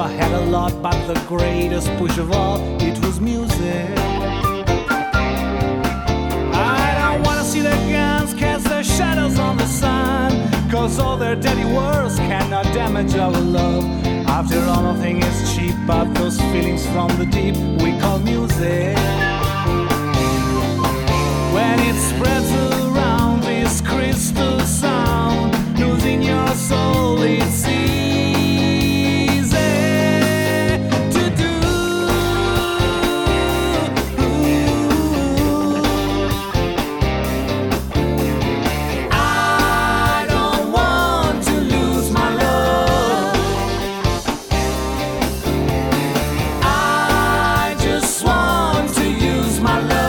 had a lot, but the greatest push of all, it was music. I don't wanna see their guns cast their shadows on the sun, cause all their dirty words cannot damage our love. After all, nothing is cheap but those feelings from the deep we call music. When it spreads around this crystal sound, losing your soul, it's easy to do. I don't want to lose my love. I just want to use my love.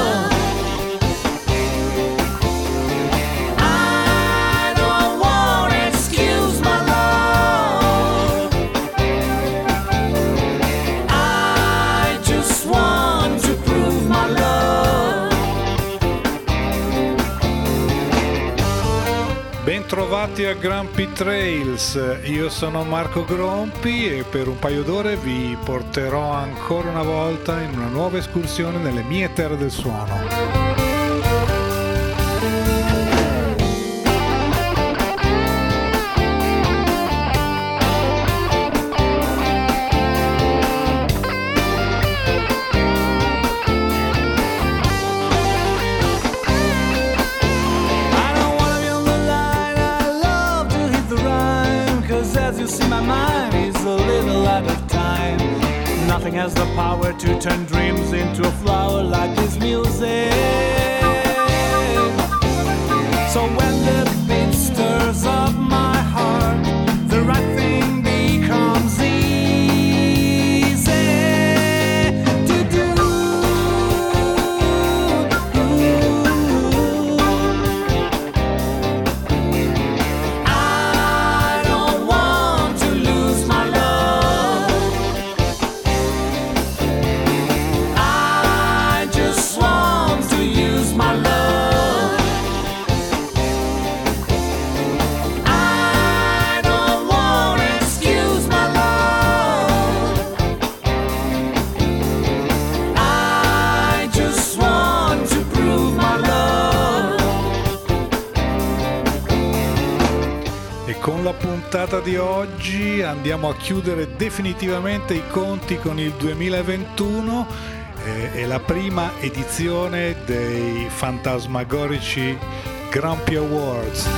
Bentrovati a Grumpy Trails, io sono Marco Grompi e per un paio d'ore vi porterò ancora una volta in una nuova escursione nelle mie terre del suono. See, my mind is a little out of time. Nothing has the power to turn dreams into a flower like this music. So when the beat stirs up my heart, the right thing becomes easy to do. Con la puntata di oggi andiamo a chiudere definitivamente i conti con il 2021 e la prima edizione dei fantasmagorici Grumpy Awards.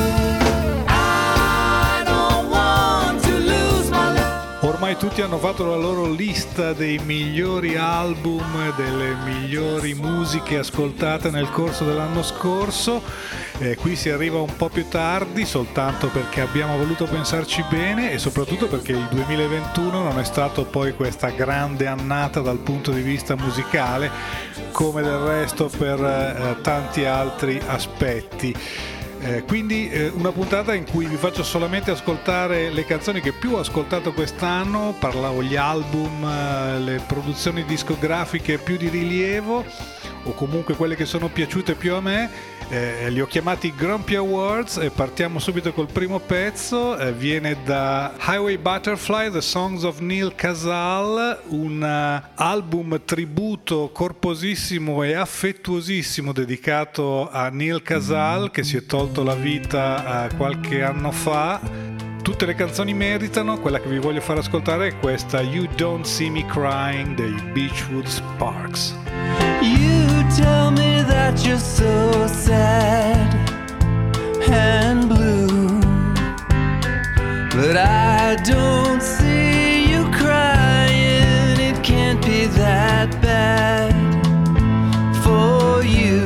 Ormai tutti hanno fatto la loro lista dei migliori album, delle migliori musiche ascoltate nel corso dell'anno scorso. Qui si arriva un po' più tardi soltanto perché abbiamo voluto pensarci bene e soprattutto perché il 2021 non è stato poi questa grande annata dal punto di vista musicale, come del resto per tanti altri aspetti. Quindi una puntata in cui vi faccio solamente ascoltare le canzoni che più ho ascoltato quest'anno, parlavo gli album, le produzioni discografiche più di rilievo o comunque quelle che sono piaciute più a me. Li ho chiamati Grumpy Awards e partiamo subito col primo pezzo. Viene da Highway Butterfly, The Songs of Neal Casal, un album tributo corposissimo e affettuosissimo dedicato a Neal Casal, che si è tolto la vita qualche anno fa. Tutte le canzoni meritano. Quella che vi voglio far ascoltare è questa You Don't See Me Crying dei Beachwood Sparks. You tell me that you're so sad and blue, but I don't see you crying. It can't be that bad for you.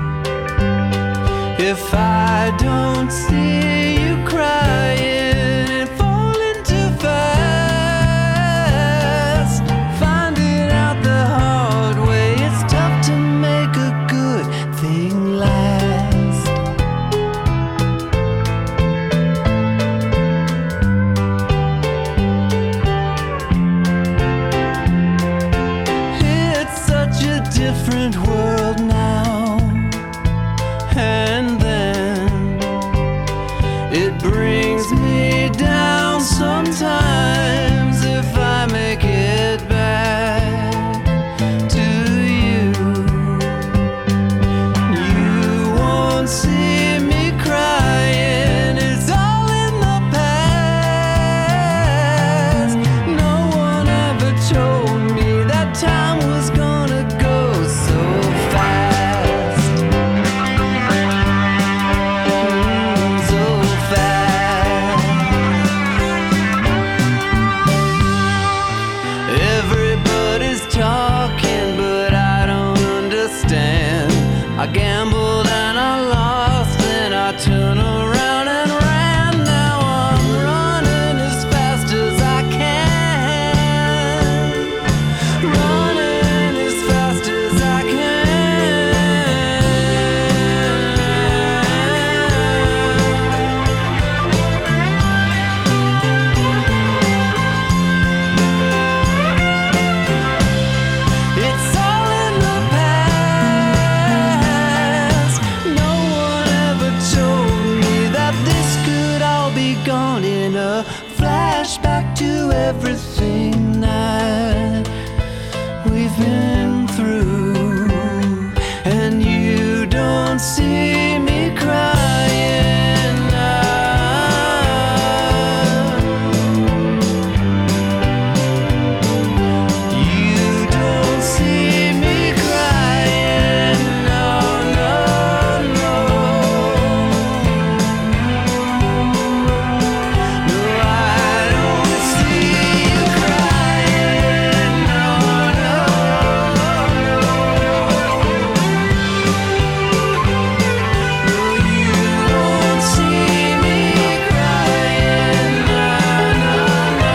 If I don't see you crying and falling too fast, finding out the hard way, it's tough to make a good thing last. It's such a different world now, and then gambled and I lost, then I turned around and ran. Now I'm running as fast as I can, running as fast as I can. It's all in the past. No one ever told me that this could all be gone in a flashback to everything that we've been through. And you don't see me crying now. You don't see me crying, no, no, no. No, I don't see you crying, no, no, no. No, you don't see me crying, no, no, no.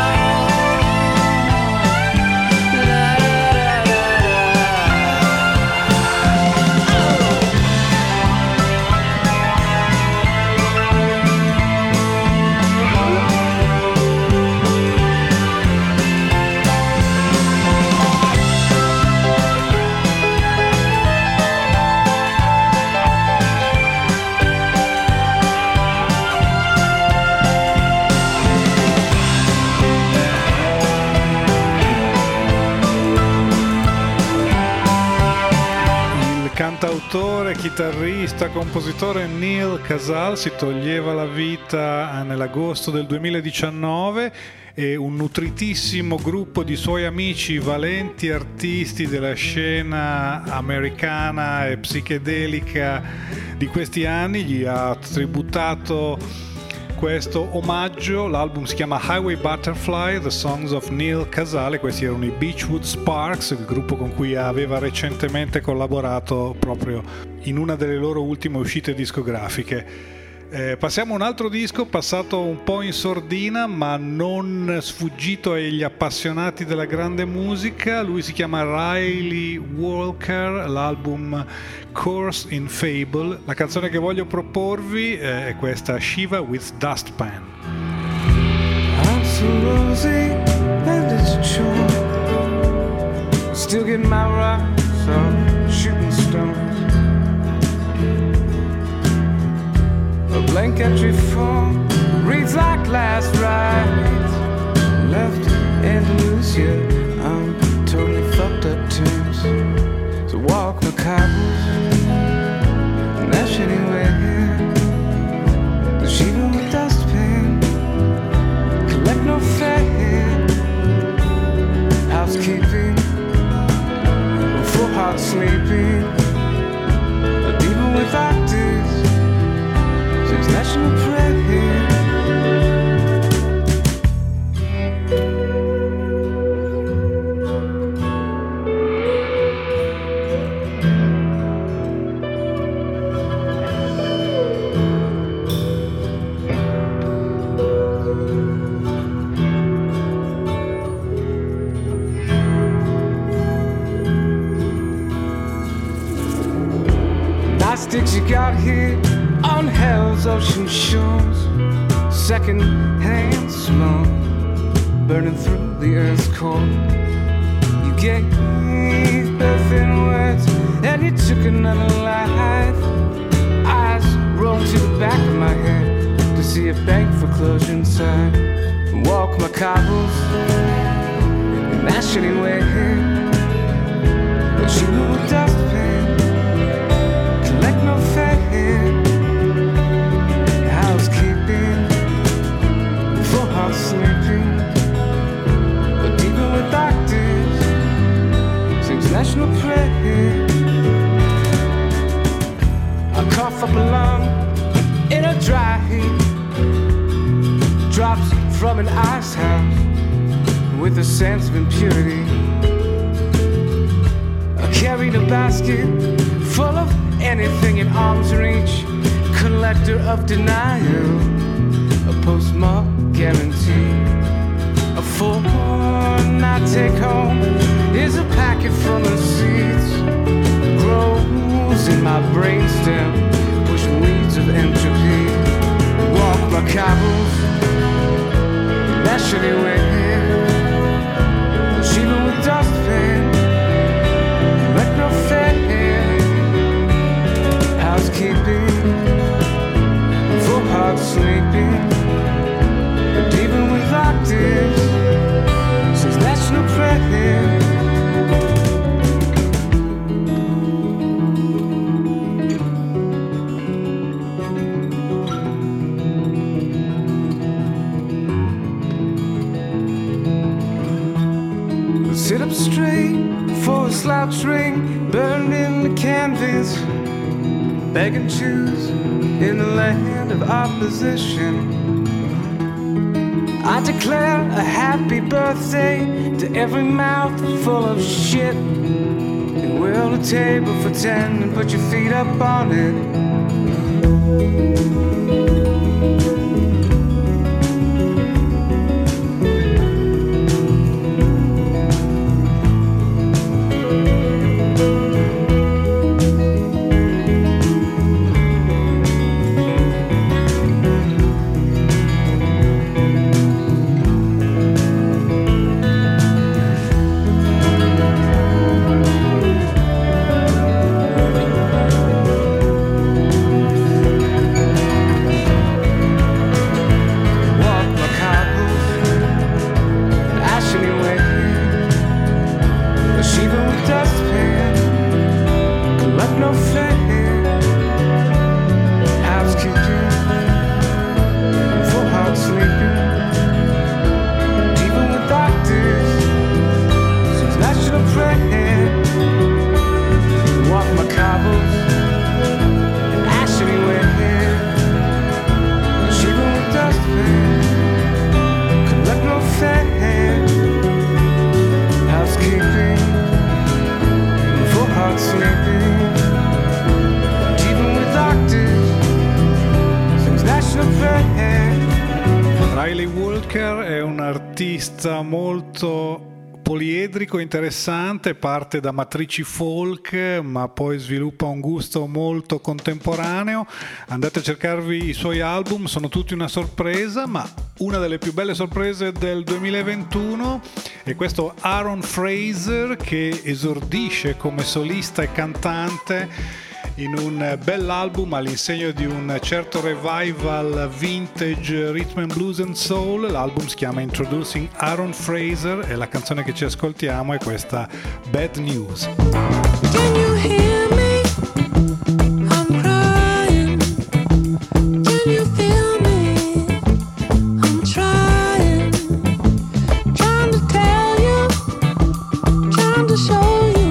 Il cantautore, chitarrista, compositore Neal Casal si toglieva la vita nell'agosto del 2019 e un nutritissimo gruppo di suoi amici, valenti artisti della scena americana e psichedelica di questi anni, gli ha tributato questo omaggio. L'album si chiama Highway Butterfly, The Songs of Neal Casal, e questi erano i Beechwood Sparks, il gruppo con cui aveva recentemente collaborato proprio in una delle loro ultime uscite discografiche. Passiamo a un altro disco passato un po' in sordina ma non sfuggito agli appassionati della grande musica. Lui si chiama Riley Walker, l'album Course in Fable. La canzone che voglio proporvi è questa, Shiva with Dustpan. I'm so rosy and it's true. Still getting my rocks off shooting stones. A blank entry form reads like last rites. Left Andalusia, I'm totally fucked up terms. So walk my cobbles, and that's anywhere. The Shiva with dustpan, collect no fare. Housekeeping, full heart sleeping. But even without this, since national prayer. Sticks you got here on hell's ocean shores, second-hand smoke burning through the earth's core. You gave birth in words and you took another life. Eyes rolled to the back of my head to see a bank foreclosure inside. Walk my cobbles and that's anywhere. But you know a dustpan, collect no fare. Housekeeping, full heart sleeping. But even without this, sings national prayer. I cough up a lung in a dry heat, drops from an ice house with a sense of impurity. I carried a basket full of anything in arm's reach, collector of denial, a postmark guarantee. A fortnight take home is a packet from the seeds. Grows in my brainstem, push weeds of entropy. Walk my cobbles, lash anywhere. Shiva with dustpan, like no fair. Housekeeping, full heart sleeping. And even with octaves, since national prayer. Sit up straight for a slouch ring, burned in the canvas. Beg and choose in the land of opposition. I declare a happy birthday to every mouth full of shit. And wheel a table for 10 and put your feet up on it. Molto poliedrico, interessante, parte da matrici folk ma poi sviluppa un gusto molto contemporaneo. Andate a cercarvi i suoi album, sono tutti una sorpresa, ma una delle più belle sorprese del 2021 è questo Aaron Fraser, che esordisce come solista e cantante in un bell'album all'insegno di un certo revival vintage rhythm and blues and soul. L'album si chiama Introducing Aaron Fraser e la canzone che ci ascoltiamo è questa Bad News. Can you hear me? I'm crying. Can you feel me? I'm trying to tell you, trying to show you.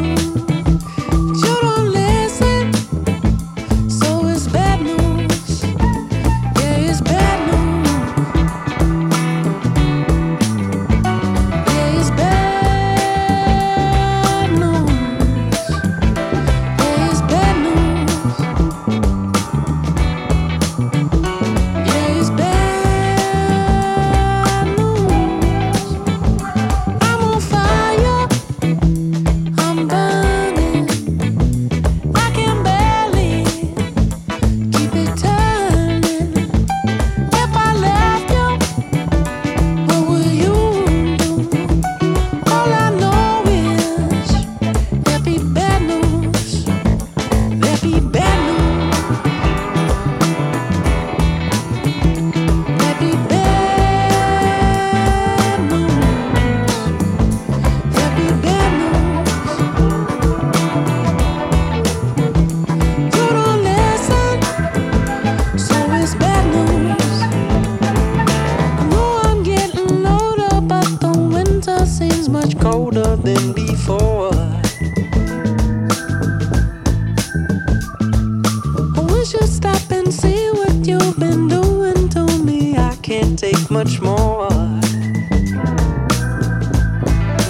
Much more.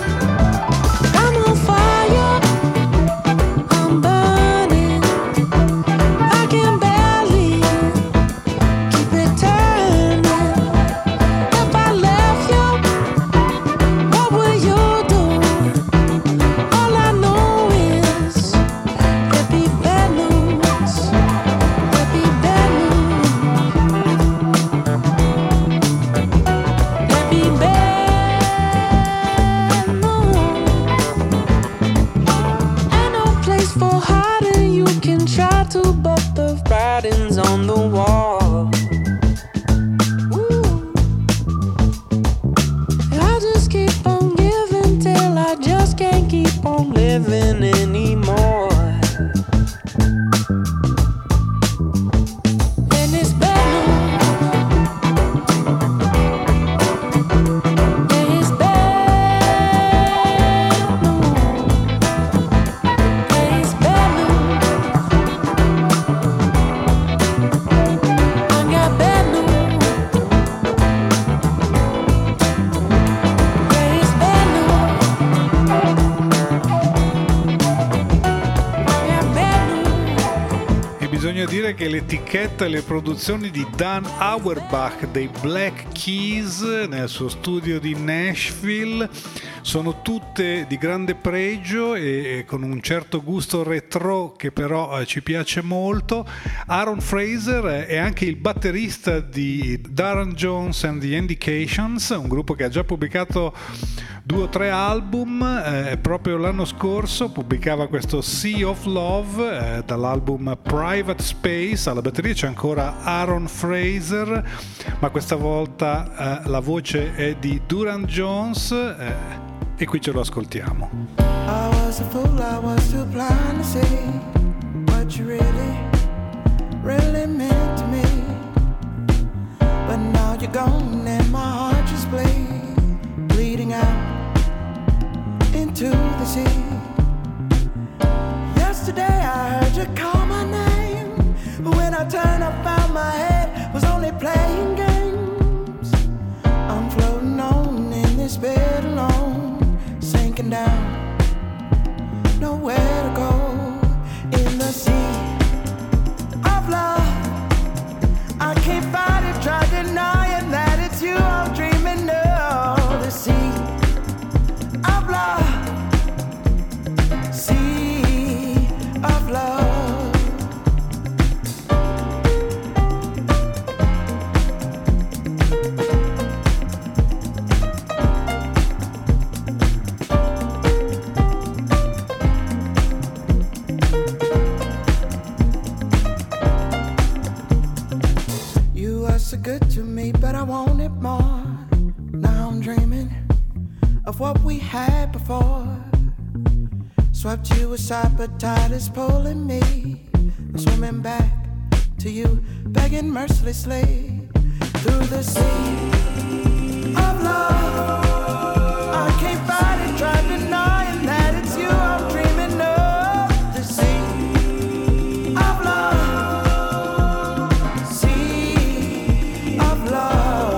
I'm on fire, I'm burning. tattoo but the writing's on the wall. Ooh. I just keep on giving till I just can't keep on living anymore. Dire che l'etichetta e le produzioni di Dan Auerbach dei Black Keys nel suo studio di Nashville sono tutte di grande pregio e con un certo gusto retro che però ci piace molto. Aaron Fraser è anche il batterista di Darren Jones and the Indications, un gruppo che ha già pubblicato 2 o 3 album. Proprio l'anno scorso pubblicava questo Sea of Love dall'album Private Space. Alla batteria c'è ancora Aaron Fraser, ma questa volta la voce è di Duran Jones e qui ce lo ascoltiamo. I was a fool, I was too blind to see what you really meant to me. But now you're gone and my heart just bleeding out into the sea. Yesterday I heard you call my name, but when I turned I found my head was only playing games. I'm floating on in this bed alone, sinking down, nowhere to go. In the sea of love, I can't fight it, try denying that it's you I'm dreaming of. The sea of love, sea of love. You were so good to me, but I wanted more. Now I'm dreaming of what we had before. Swept you aside, but tide is pulling me. I'm swimming back to you, begging mercilessly through the sea of love. I can't fight it, try denying that it's you I'm dreaming of. The sea of love, sea of love.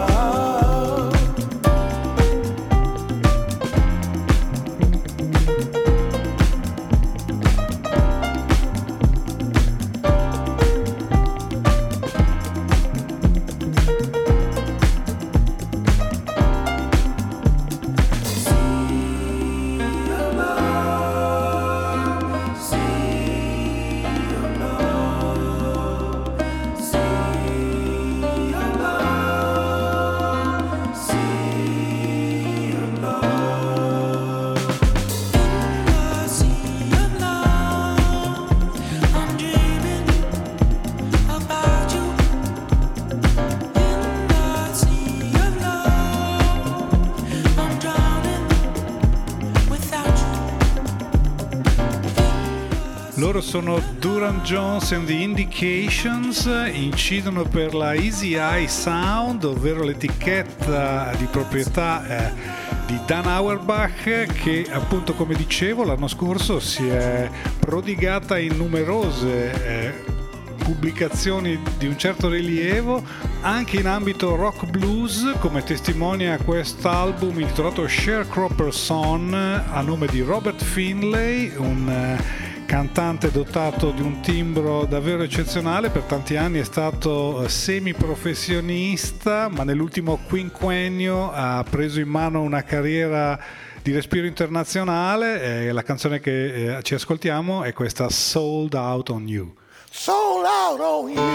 Loro sono Duran Jones and the Indications, incidono per la Easy Eye Sound, ovvero l'etichetta di proprietà di Dan Auerbach, che appunto, come dicevo, l'anno scorso si è prodigata in numerose pubblicazioni di un certo rilievo anche in ambito rock blues, come testimonia quest'album intitolato Sharecropper Son a nome di Robert Finlay, un cantante dotato di un timbro davvero eccezionale. Per tanti anni è stato semiprofessionista, ma nell'ultimo quinquennio ha preso in mano una carriera di respiro internazionale. La canzone che ci ascoltiamo è questa Sold Out on You. Sold out on you,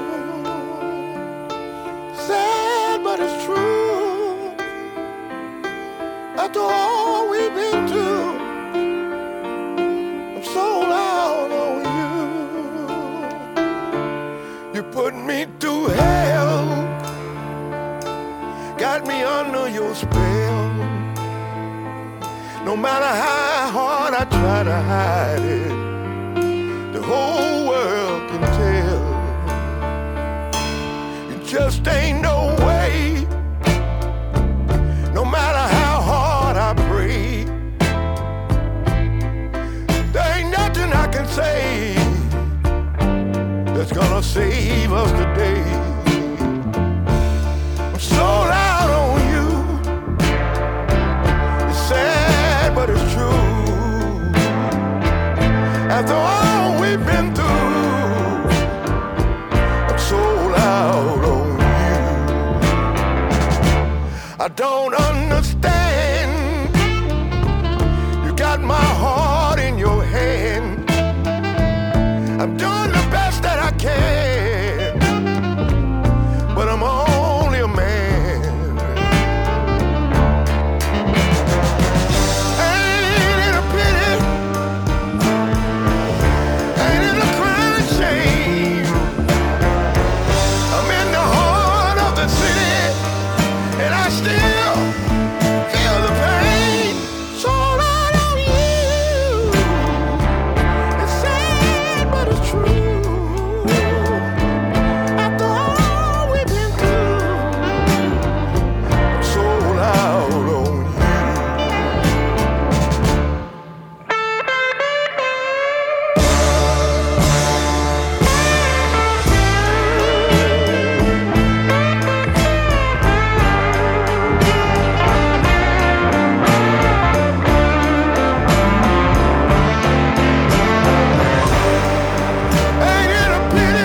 sad but it's true. After all we've been through, I'm sold out on you. You put me through hell, got me under your spell. No matter how hard I try to hide it, the whole world can tell. It just ain't no way, no matter how hard I pray. There ain't nothing I can say that's gonna save us today. I'm sold out on you. It's sad, but it's true. After all we've been through, I'm sold out on you. I don't understand. You got my heart in your hand. I'm doing the best that I can, but I'm only a man. Ain't it a pity? Ain't it a crying shame? I'm in the heart of the city, and I still feel the pain. So out on you. It's sad, but it's true. After all we've been through, I'm sold out on you. Ain't it a pity?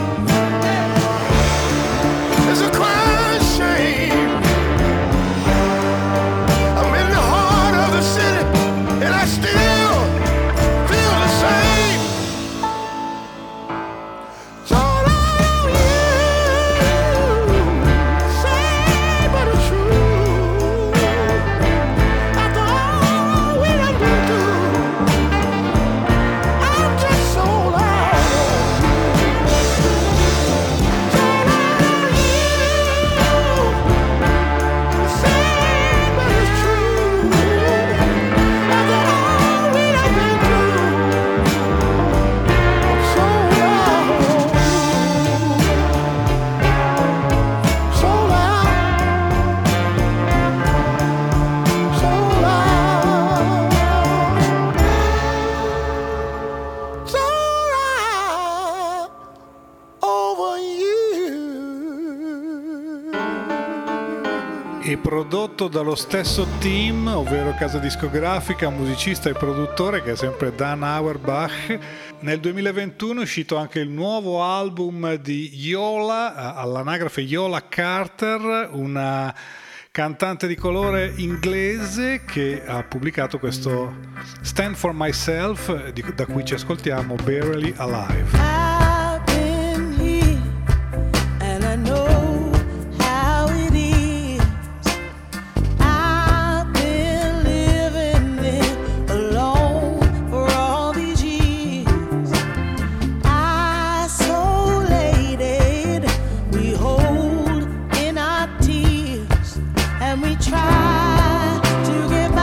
It's a crying shame. I'm in the heart of the city, and I still feel the same. So out on you. Sad, but it's true. After all we done been through, I'm just sold out on you. Sold out on you. Sad, but it's true. After all we done been through, I'm sold out on you. Sold out. Sold out. Sold out over you. E prodotto dallo stesso team, ovvero casa discografica, musicista e produttore, che è sempre Dan Auerbach. Nel 2021 è uscito anche il nuovo album di Yola, all'anagrafe Yola Carter, una cantante di colore inglese che ha pubblicato questo Stand for Myself, da cui ci ascoltiamo Barely Alive. I've been here and I know how it is. I've been living it alone for all these years. Isolated, we hold in our tears and we try to get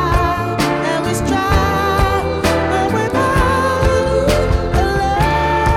by and we strive, but without the love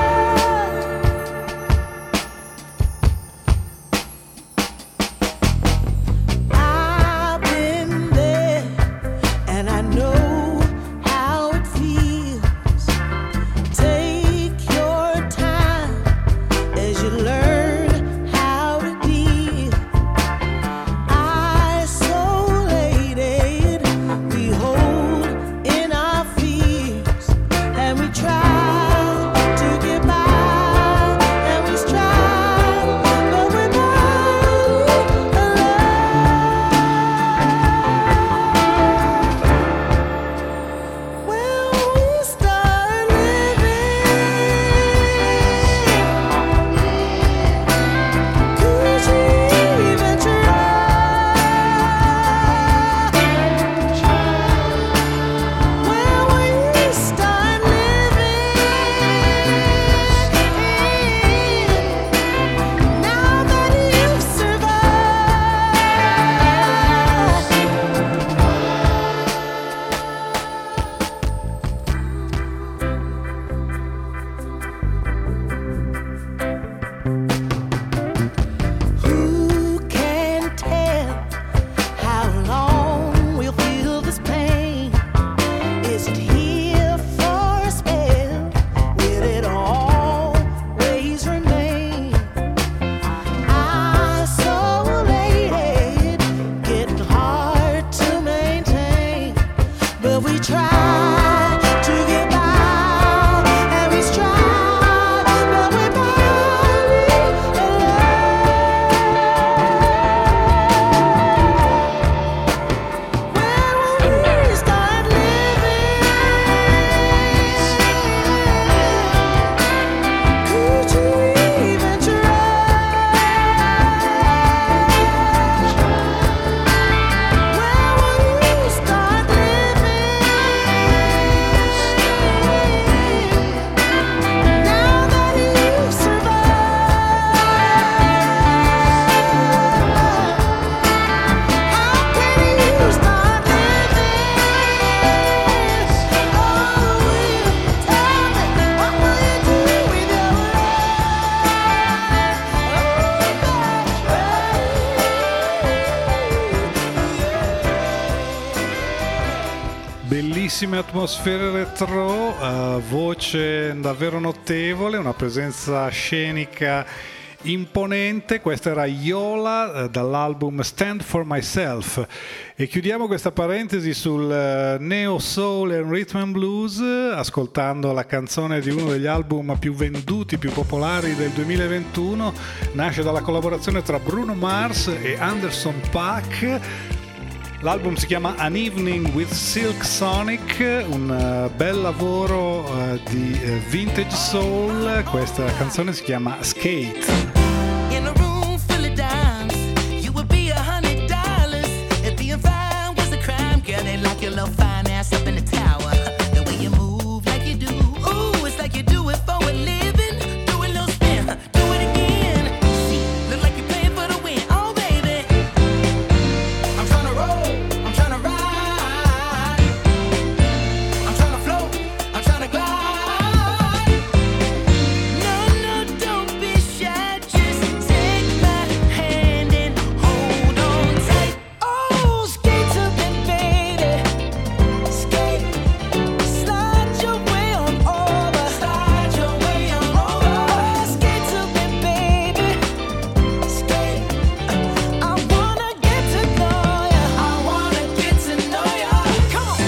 bellissime atmosfere retro, voce davvero notevole, una presenza scenica imponente. Questa era Yola dall'album Stand for Myself, e chiudiamo questa parentesi sul neo soul and rhythm and blues ascoltando la canzone di uno degli album più venduti, più popolari del 2021. Nasce dalla collaborazione tra Bruno Mars e Anderson .Paak. L'album si chiama An Evening with Silk Sonic, un bel lavoro di vintage soul. Questa canzone si chiama Skate. In a room full of dimes, you would be $100 if being fine was a crime. Girl, they lock your little fine ass up in the tower. The way you move like you do, ooh, it's like you do it for a living. Do a little spin, do it again. See, look like you're playing for the win. Oh baby, I'm tryna roll, I'm tryna ride, I'm tryna float, I'm tryna glide. No, don't be shy, just take my hand and hold on tight. Oh, skate to me, baby, skate, slide your way on over, slide your way on over. Oh, skate to me, baby, skate. I wanna get to know ya, I wanna get to know ya. Come on.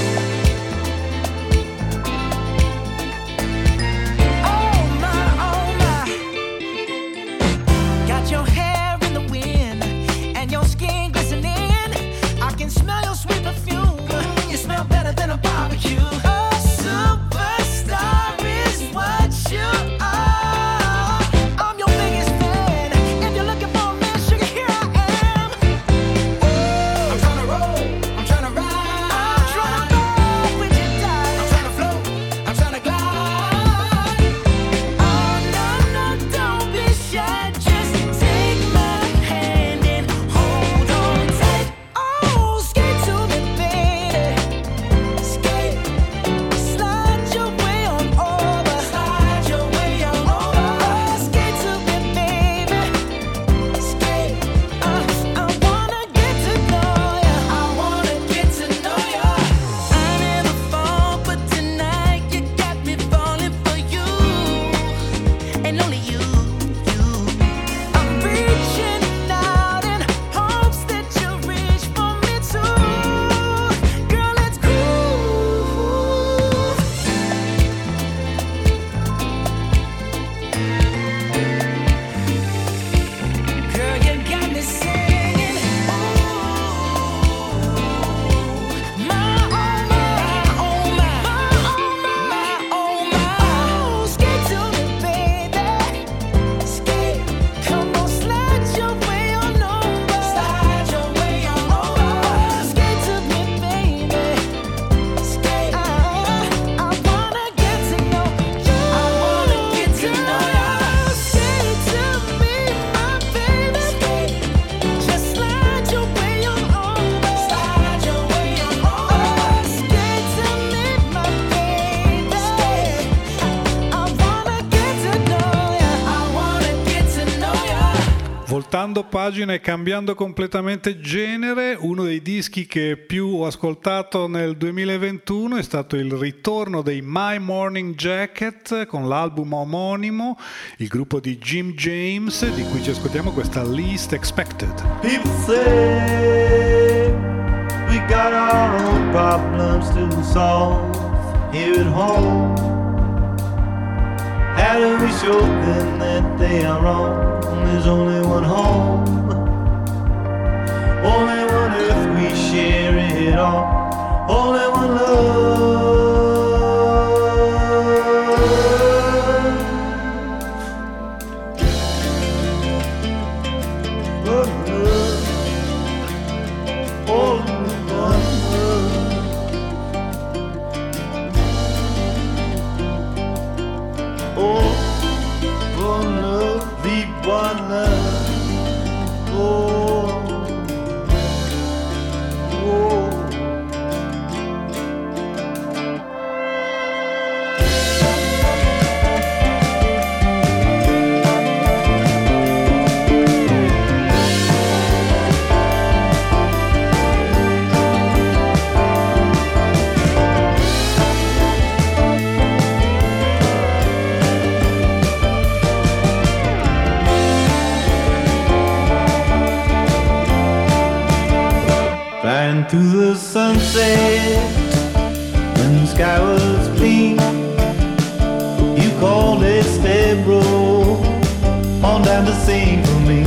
Oh my, got your hair in the wind and your skin glistening. I can smell your sweet perfume. You smell better than a barbecue. A superstar is what you are. I'm your biggest fan. If you're looking for a man, sugar, here I am. I'm tryna roll, I'm tryna ride, I'm tryna roll with you, die. I'm tryna float, I'm tryna glide. Oh no, don't be shy, just take my hand and hold on tight. Oh, skate to me, baby, skate, slide your way on over, slide your way on over. Oh, skate to me, baby, skate. I wanna get to know ya, I wanna get to know ya. I never fall, but tonight you got me falling for you, and only you. I'm reaching out in hopes that you reach for me too. Girl, let's groove. Girl, you got me singing. Ooh, my oh my, oh, skate to me, baby, skate. Come on, slide your way on over, slide your way on over. Skate to me, baby, skate. I wanna get to know you, I wanna get to know ya. Skate to me, my baby, skate. Just slide your way on over, slide your way on over. Skate to me, my baby, skate. I wanna get to know ya, I wanna get to know ya. Voltando pagina e cambiando completamente genere, uno dei dischi che più ho ascoltato nel 2021 è stato il ritorno dei My Morning Jacket con l'album omonimo, il gruppo di Jim James, di cui ci ascoltiamo questa Least Expected. People say we got our own problems to solve here at home. How do we show them that they are wrong? There's only one home, only one earth, we share it all, only one love. One love, only one love. Oh, one love, the one love. Oh, oh. sunset when the sky was clean. You called it step roll on down to sing for me.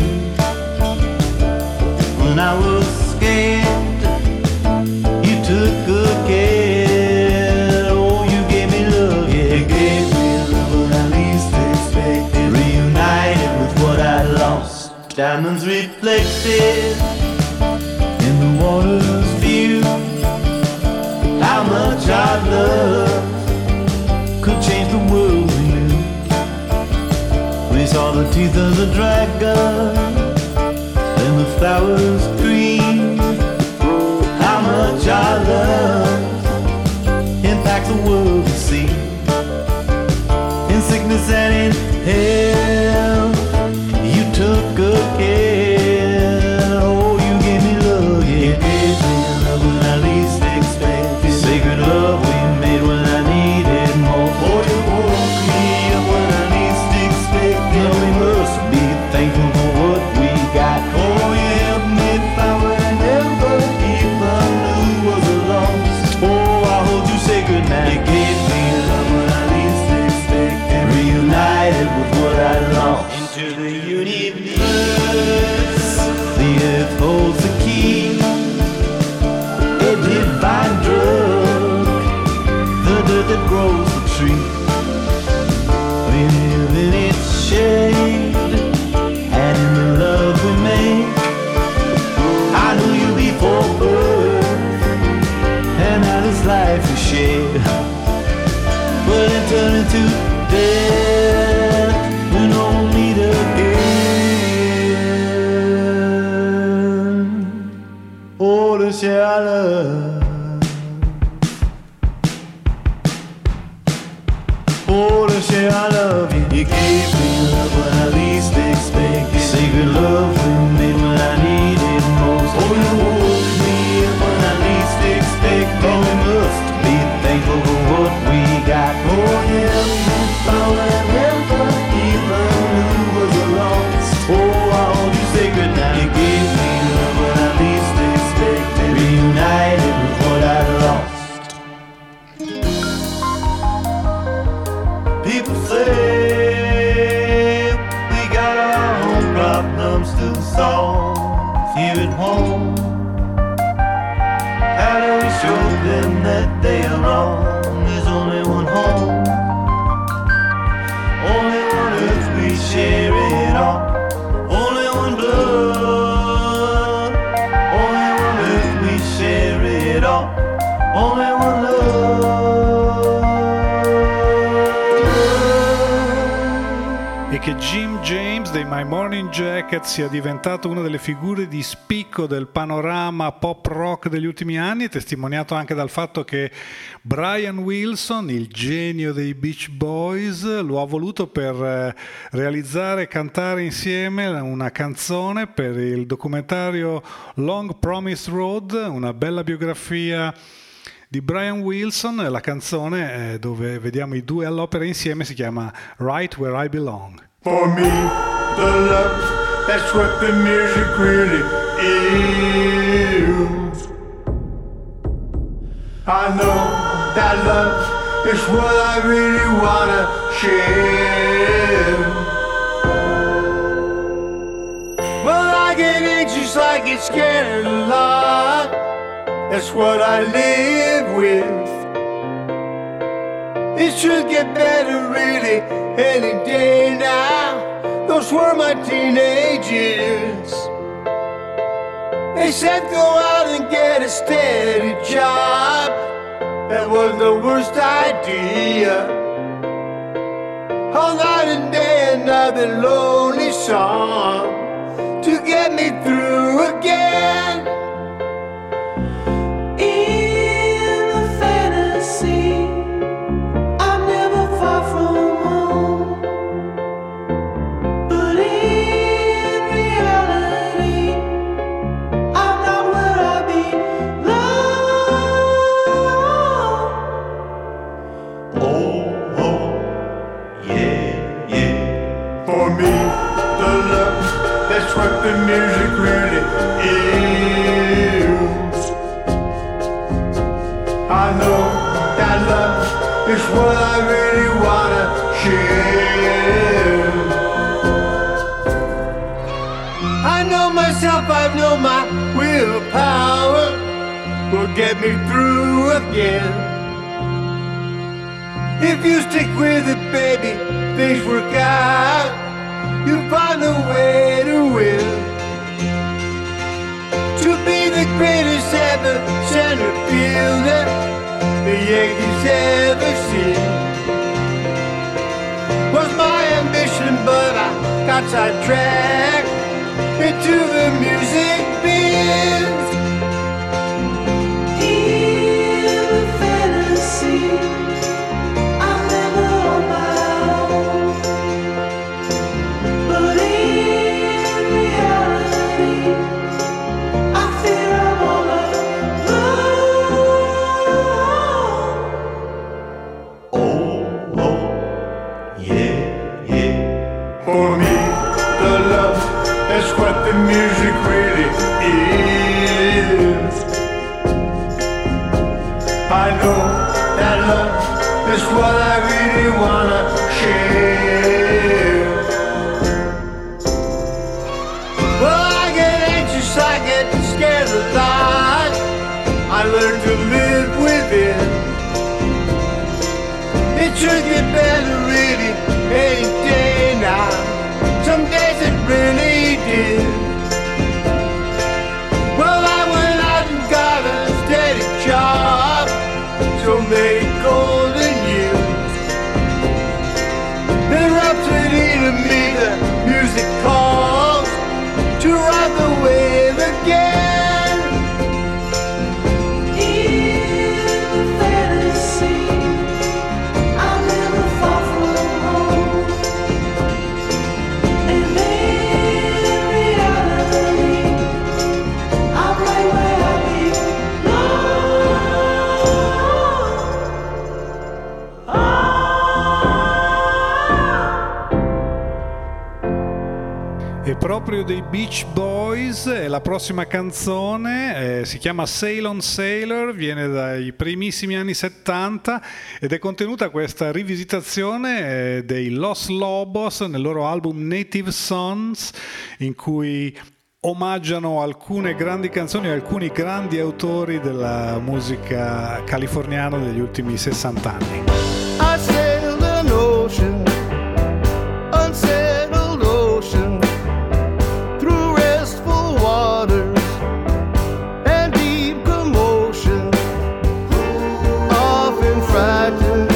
When I was scared, you took good care. Oh, you gave me love, yeah, you gave me love when I least expected. Reunited with what I lost. Diamonds reflected in the water's view. How much our love could change the world we knew. We saw the teeth of the dragon and the flowers green. How much our love impacts the world we see. In sickness and in health, you took good care. Oh, you gave me love, yeah, you gave me love when I least expected. Sacred love we made when I needed more. Oh, you woke me up when I least expected. Now we must be thankful for what we got. Oh, you helped me find what I never even knew was a loss. Oh, I hold you sacred now. You gave me love when I least expected. Reunited with what I lost. Into the universe, the earth holds the key. A divine drug, the dirt that grows the tree. We live in its shade, and in the love we make. I knew you before birth, and now this life we share. But it turned into death, we don't meet again. Oh, to share our love. Oh, to share our love. You gave me love when I least expected. Sacred love we made when I needed most. Oh, you woke me up when I least expected. Oh, we must be thankful for what we got. Oh, yeah, we found that never even knew was a loss. Oh, I hold you sacred now. You gave me love when I least expected. Reunited with what I lost. People say we got our own problems to solve here at home. How do we show them that they are wrong? There's only one home, only one earth we share it on, only one blood, only one earth we share it on, only one love. E che Jim James dei My Morning Jacket sia diventato una delle figure di spicco del panorama pop rock degli ultimi anni è testimoniato anche dal fatto che Brian Wilson, il genio dei Beach Boys, lo ha voluto per realizzare e cantare insieme una canzone per il documentario Long Promised Road, una bella biografia di Brian Wilson. La canzone dove vediamo i due all'opera insieme si chiama Right Where I Belong. For me, the love, that's what the music really is. I know that love is what I really wanna share. Well, I get anxious, I get scared a lot. That's what I live with. It should get better really any day now. Those were my teenage years. They said go out and get a steady job. That was the worst idea. All night and day another lonely song to get me through again. In the fantasy, I'm never far from home. But in reality, I'm not where I belong. Oh, oh, yeah, yeah. For me, the love, that's what the music really is. I know that love is what I really wanna share. I know myself, I know my willpower will get me through again. If you stick with it, baby, things work out. You find a way to win. To be the greatest ever center fielder the Yankees ever seen was my ambition, but I got sidetracked into the music biz. In the fantasy, I'm never on my own. But in reality, I fear I'm all alone. Oh, oh, yeah, yeah. For me, the love, that's what the music really is. I know that love is what I really wanna share. Well, I get anxious, I get scared a lot. I learn to live with it. It should get better really any day now. Some days it really did. Well, I went out and got a steady job, so many golden years. The rhapsody to me, the music calls to ride the wave again. In the fantasy, I'm never far from home. And in reality, I'm right where I È proprio dei Beach Boys, e la prossima canzone si chiama Sail on Sailor, viene dai primissimi anni 70 ed è contenuta questa rivisitazione dei Los Lobos nel loro album Native Sons, in cui omaggiano alcune grandi canzoni e alcuni grandi autori della musica californiana degli ultimi 60 anni. I sailed an ocean, unsettled ocean, through restful waters and deep commotion, often frightened,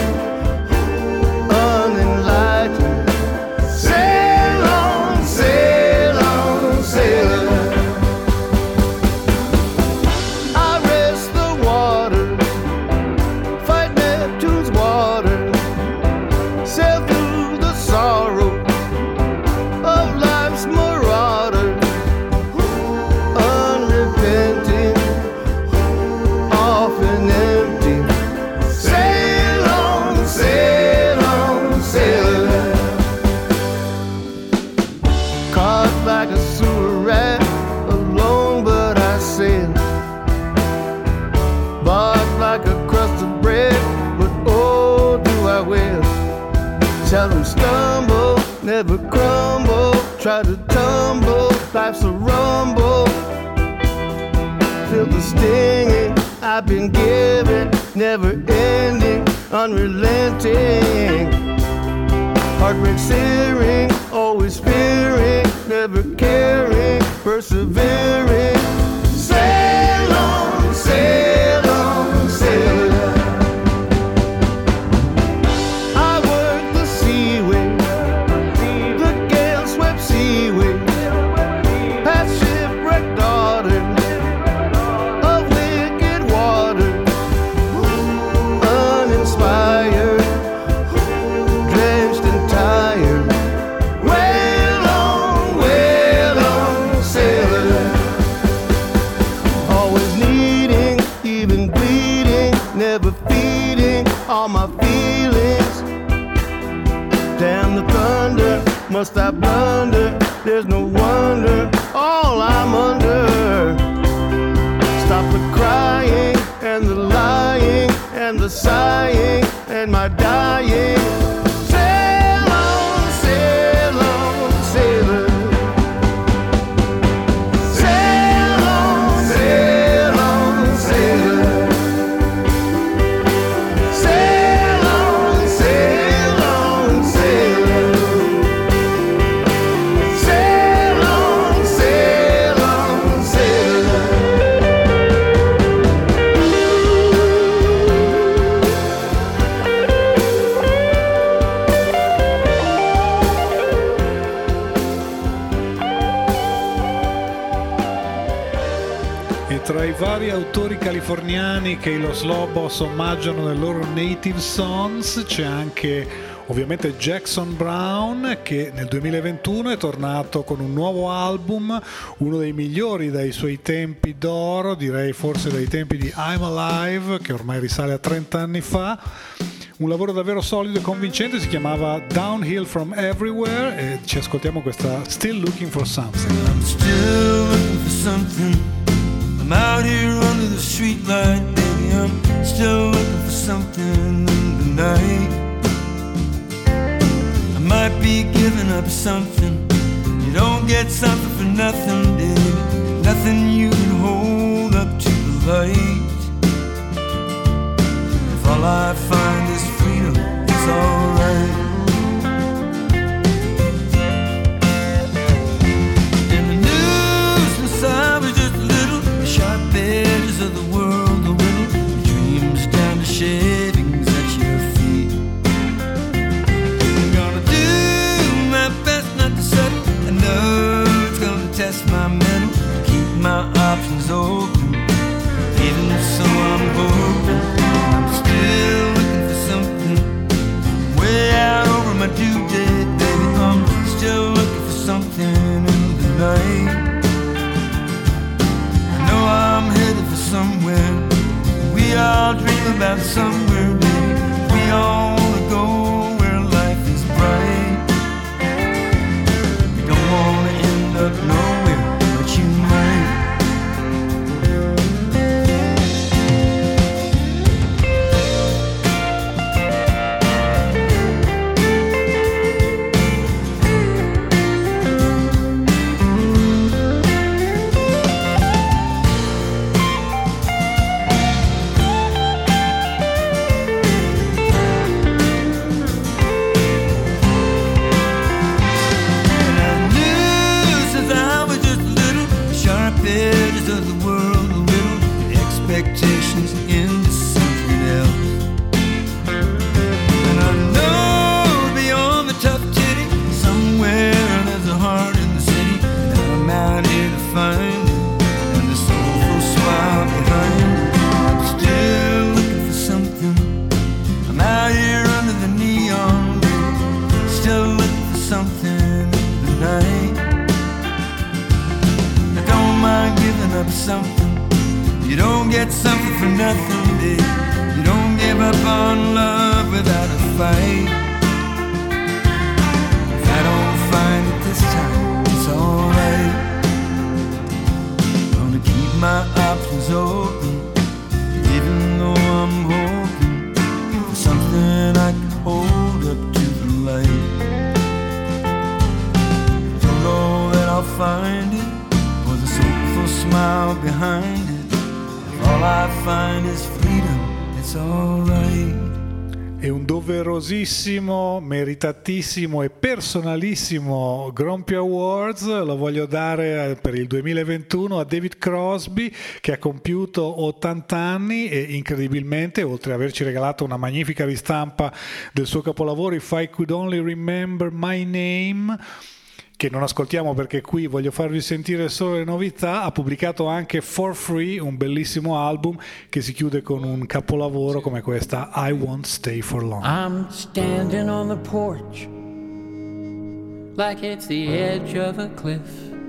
unenlightened. Sail on, sail on, sailor. I rest the water, fight Neptune's water, sail through the sorrow of life's marauder, unrepenting, often empty. Sail on, sail on, sailor. Caught like a sewer rat, alone but I sail. Bought like a crust of bread, but oh, do I will. Seldom stumble, never crumble, try to tumble, life's a rumble. Feel the stinging I've been given, never ending, unrelenting. Heartbreak searing, always fearing, never caring, persevering. Sail on, sail on, sailor. I work the seaway, the gale-swept seaway, past shipwrecked daughters of wicked water, uninspired, drenched and tired. Wail on, sailor. Always needing, even bleeding, never feeding all my feelings. Damn the thunder, must I blunder? There's no wonder, all I'm under. Stop the crying and the lying and the sighing and my dying. Sail on, sail on, sailor. Sail on, sail on, sailor. Sail on, sail on, sailor. Sail on, sail on, sailor. Tra i vari autori californiani che i Los Lobos omaggiano nel loro Native Songs c'è anche ovviamente Jackson Browne, che nel 2021 è tornato con un nuovo album, uno dei migliori dai suoi tempi d'oro, direi forse dai tempi di I'm Alive, che ormai risale a 30 anni fa. Un lavoro davvero solido e convincente, si chiamava Downhill from Everywhere, e ci ascoltiamo questa Still Looking for Something. I'm still looking for something. I'm out here under the streetlight, baby. I'm still looking for something in the night. I might be giving up something. You don't get something for nothing, baby. Nothing you can hold up to the light. If all I find is freedom, it's alright. Sharp edges of the world, the little dreams down to shavings at your feet. I'm gonna do my best not to settle. I know it's gonna test my mental, keep my options open. Even so, I'm hoping I'm still looking for something way out over my due date, baby. I'm still looking for something in the night. I'm headed for somewhere. We all dream about somewhere, baby. We all wanna go where life is bright. We don't wanna end up nowhere, but you might. Expectations into something else. And I know beyond the tough titty, somewhere there's a heart in the city, and I'm out here to find it, and the soulful smile behind it. I'm still looking for something. I'm out here under the neon light, still looking for something in the night. I don't mind giving up something. You don't get something for nothing, babe. You don't give up on love without a fight. If I don't find it this time, it's alright. Gonna keep my options open, even though I'm hoping for something I can hold up to the light. Don't know that I'll find it, or the soulful smile behind it. All I find is freedom, it's alright. E un doverosissimo, meritatissimo e personalissimo Grumpy Awards lo voglio dare per il 2021 a David Crosby, che ha compiuto 80 anni e incredibilmente, oltre ad averci regalato una magnifica ristampa del suo capolavoro If I Could Only Remember My Name, che non ascoltiamo perché qui voglio farvi sentire solo le novità, ha pubblicato anche For Free, un bellissimo album che si chiude con un capolavoro come questa I Won't Stay For Long. I'm standing on the porch like it's the edge of a cliff.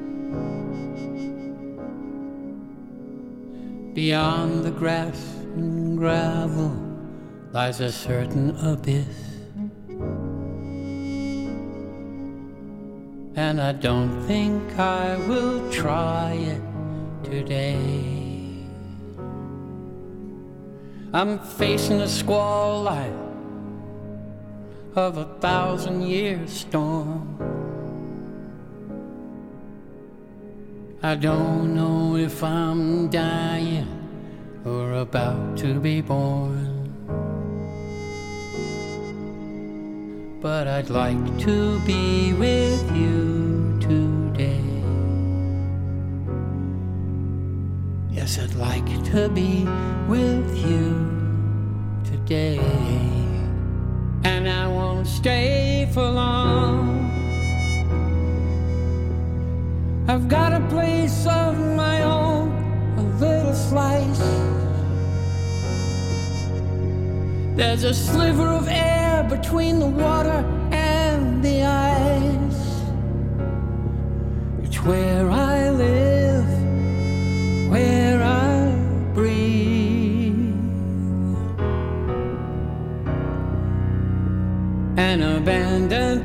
Beyond the grass and gravel lies a certain abyss. And I don't think I will try it today. I'm facing a squall like of 1,000-year storm. I don't know if I'm dying or about to be born, but I'd like to be with you today. Yes, I'd like to be with you today. And I won't stay for long. I've got a place of my own, a little slice. There's a sliver of air between the water and the ice. It's where I live, where I breathe. An abandoned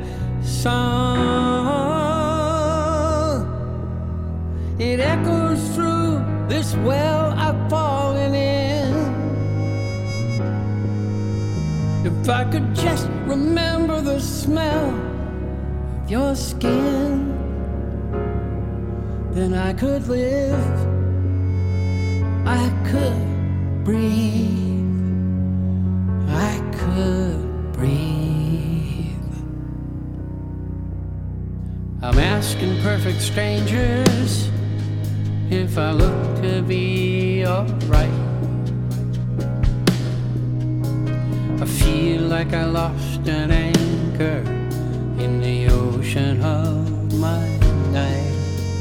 song, it echoes through this well I've fallen in. If I could just remember the smell of your skin, then I could live, I could breathe, I could breathe. I'm asking perfect strangers if I look to be alright. I feel like I lost an anchor in the ocean of my night.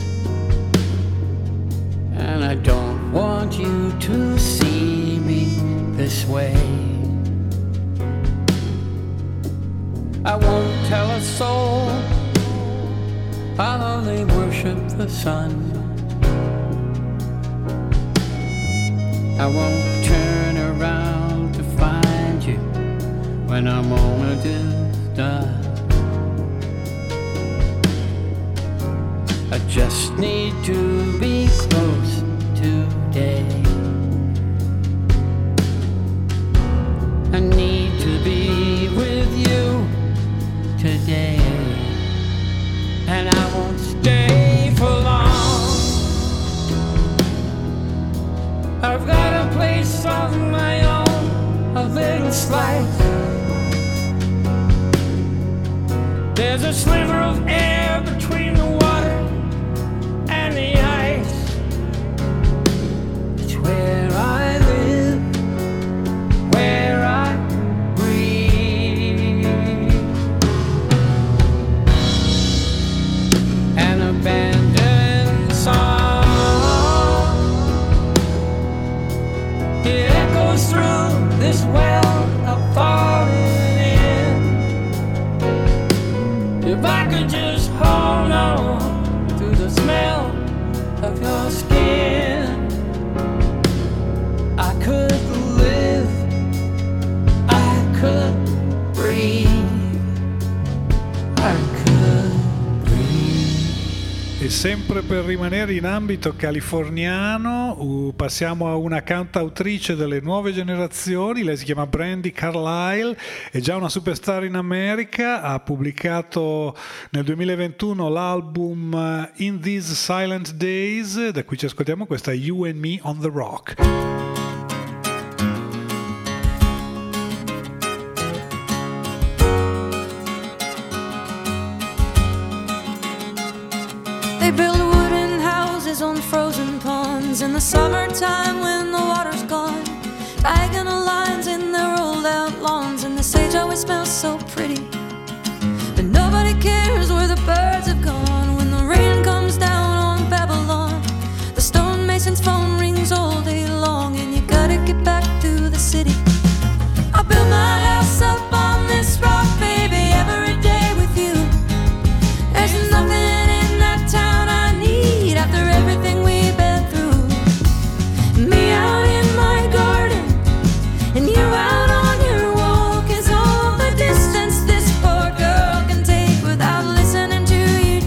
And I don't want you to see me this way. I won't tell a soul, I'll only worship the sun. I won't turn around to find you when our moment is done. I just need to be close today. I need to be with you today. And I won't stay for long. I've got a place of my own, a little slice. There's a sliver of air between the water and the ice. It's where I live, where I breathe. An abandoned song, it echoes through this well I've fallen in. If I could just hold on to the smell of your skin, I could live, I could breathe, I could breathe. E sempre per rimanere in ambito californiano, passiamo a una cantautrice delle nuove generazioni. Lei si chiama Brandi Carlile, è già una superstar in America, ha pubblicato nel 2021 l'album In These Silent Days, da cui ci ascoltiamo questa You and Me on the Rock. They build wooden houses on frozen ponds in the summertime when the water's gone. Diagonal lines in their rolled out lawns, and the sage always smells so pretty. But nobody cares where the birds have gone when the rain comes down on Babylon. The stonemason's phone rings all day long, and you gotta get back to the city. I built my house up on this rock, baby, every day with you. There's nothing after everything we've been through. Me out in my garden and you out on your walk is all the distance this poor girl can take without listening to you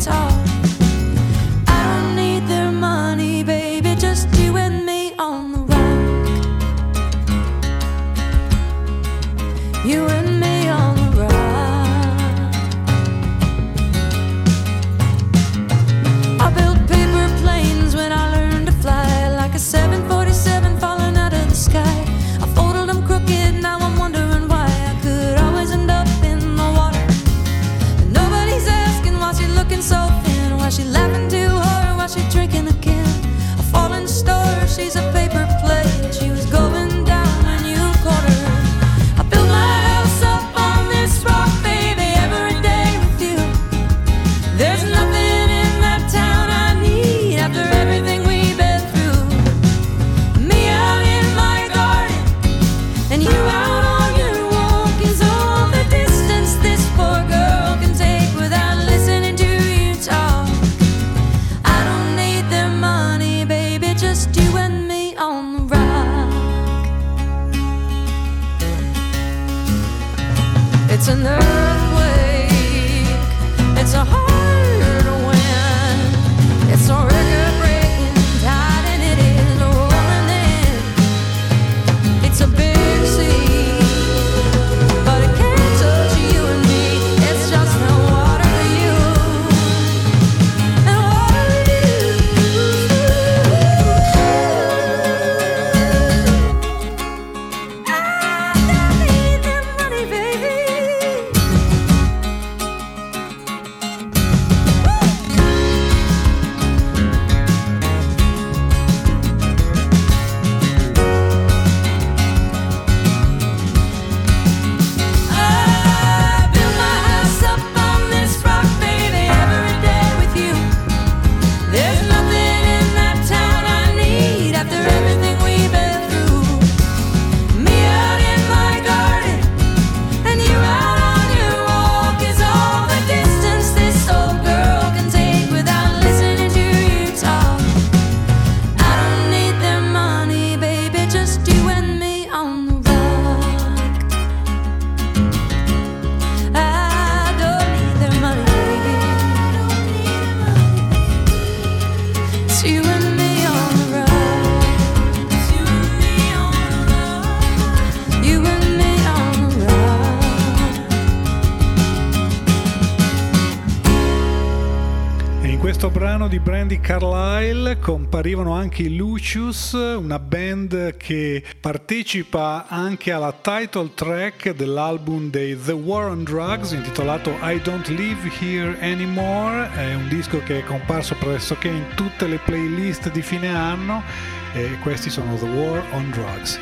E in questo brano di Brandi Carlile comparivano anche i Lucius, una band che partecipa anche alla title track dell'album dei The War on Drugs intitolato I Don't Live Here Anymore. È un disco che è comparso pressoché in tutte le playlist di fine anno e questi sono The War on Drugs.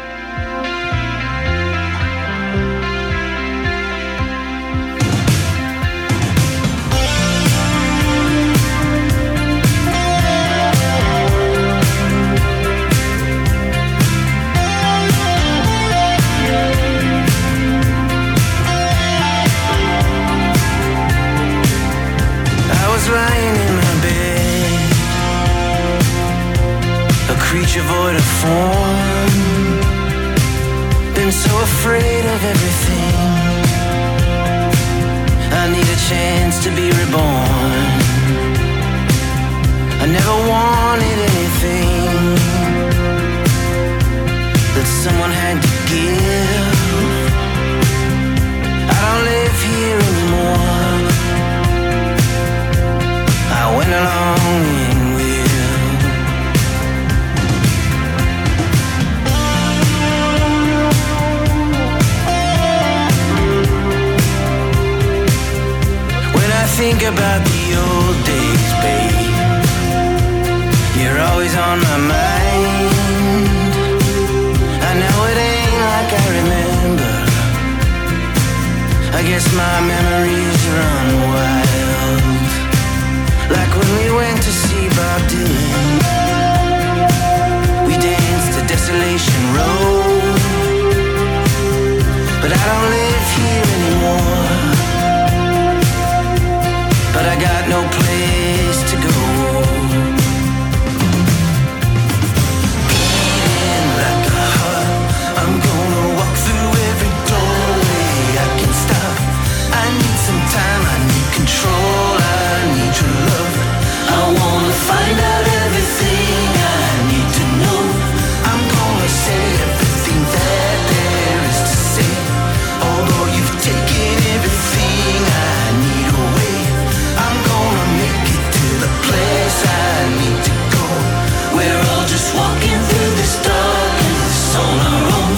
Lying in my bed, a creature void of form, been so afraid of everything. I need a chance to be reborn. I never wanted anything that someone had to give. I don't live here anymore. I went along in with. When I think about the old days, babe, you're always on my mind. I know it ain't like I remember. I guess my memories run wild. Like when we went to see Bob Dylan, we danced to Desolation Road. But I don't live here anymore. But I got no place to go. Beating like a heart, I'm gonna walk through every doorway I can stop. I need some time, I need control, I need your love. I wanna find out everything I need to know. I'm gonna say everything that there is to say. Although you've taken everything I need away, I'm gonna make it to the place I need to go. We're all just walking through this darkness on our own.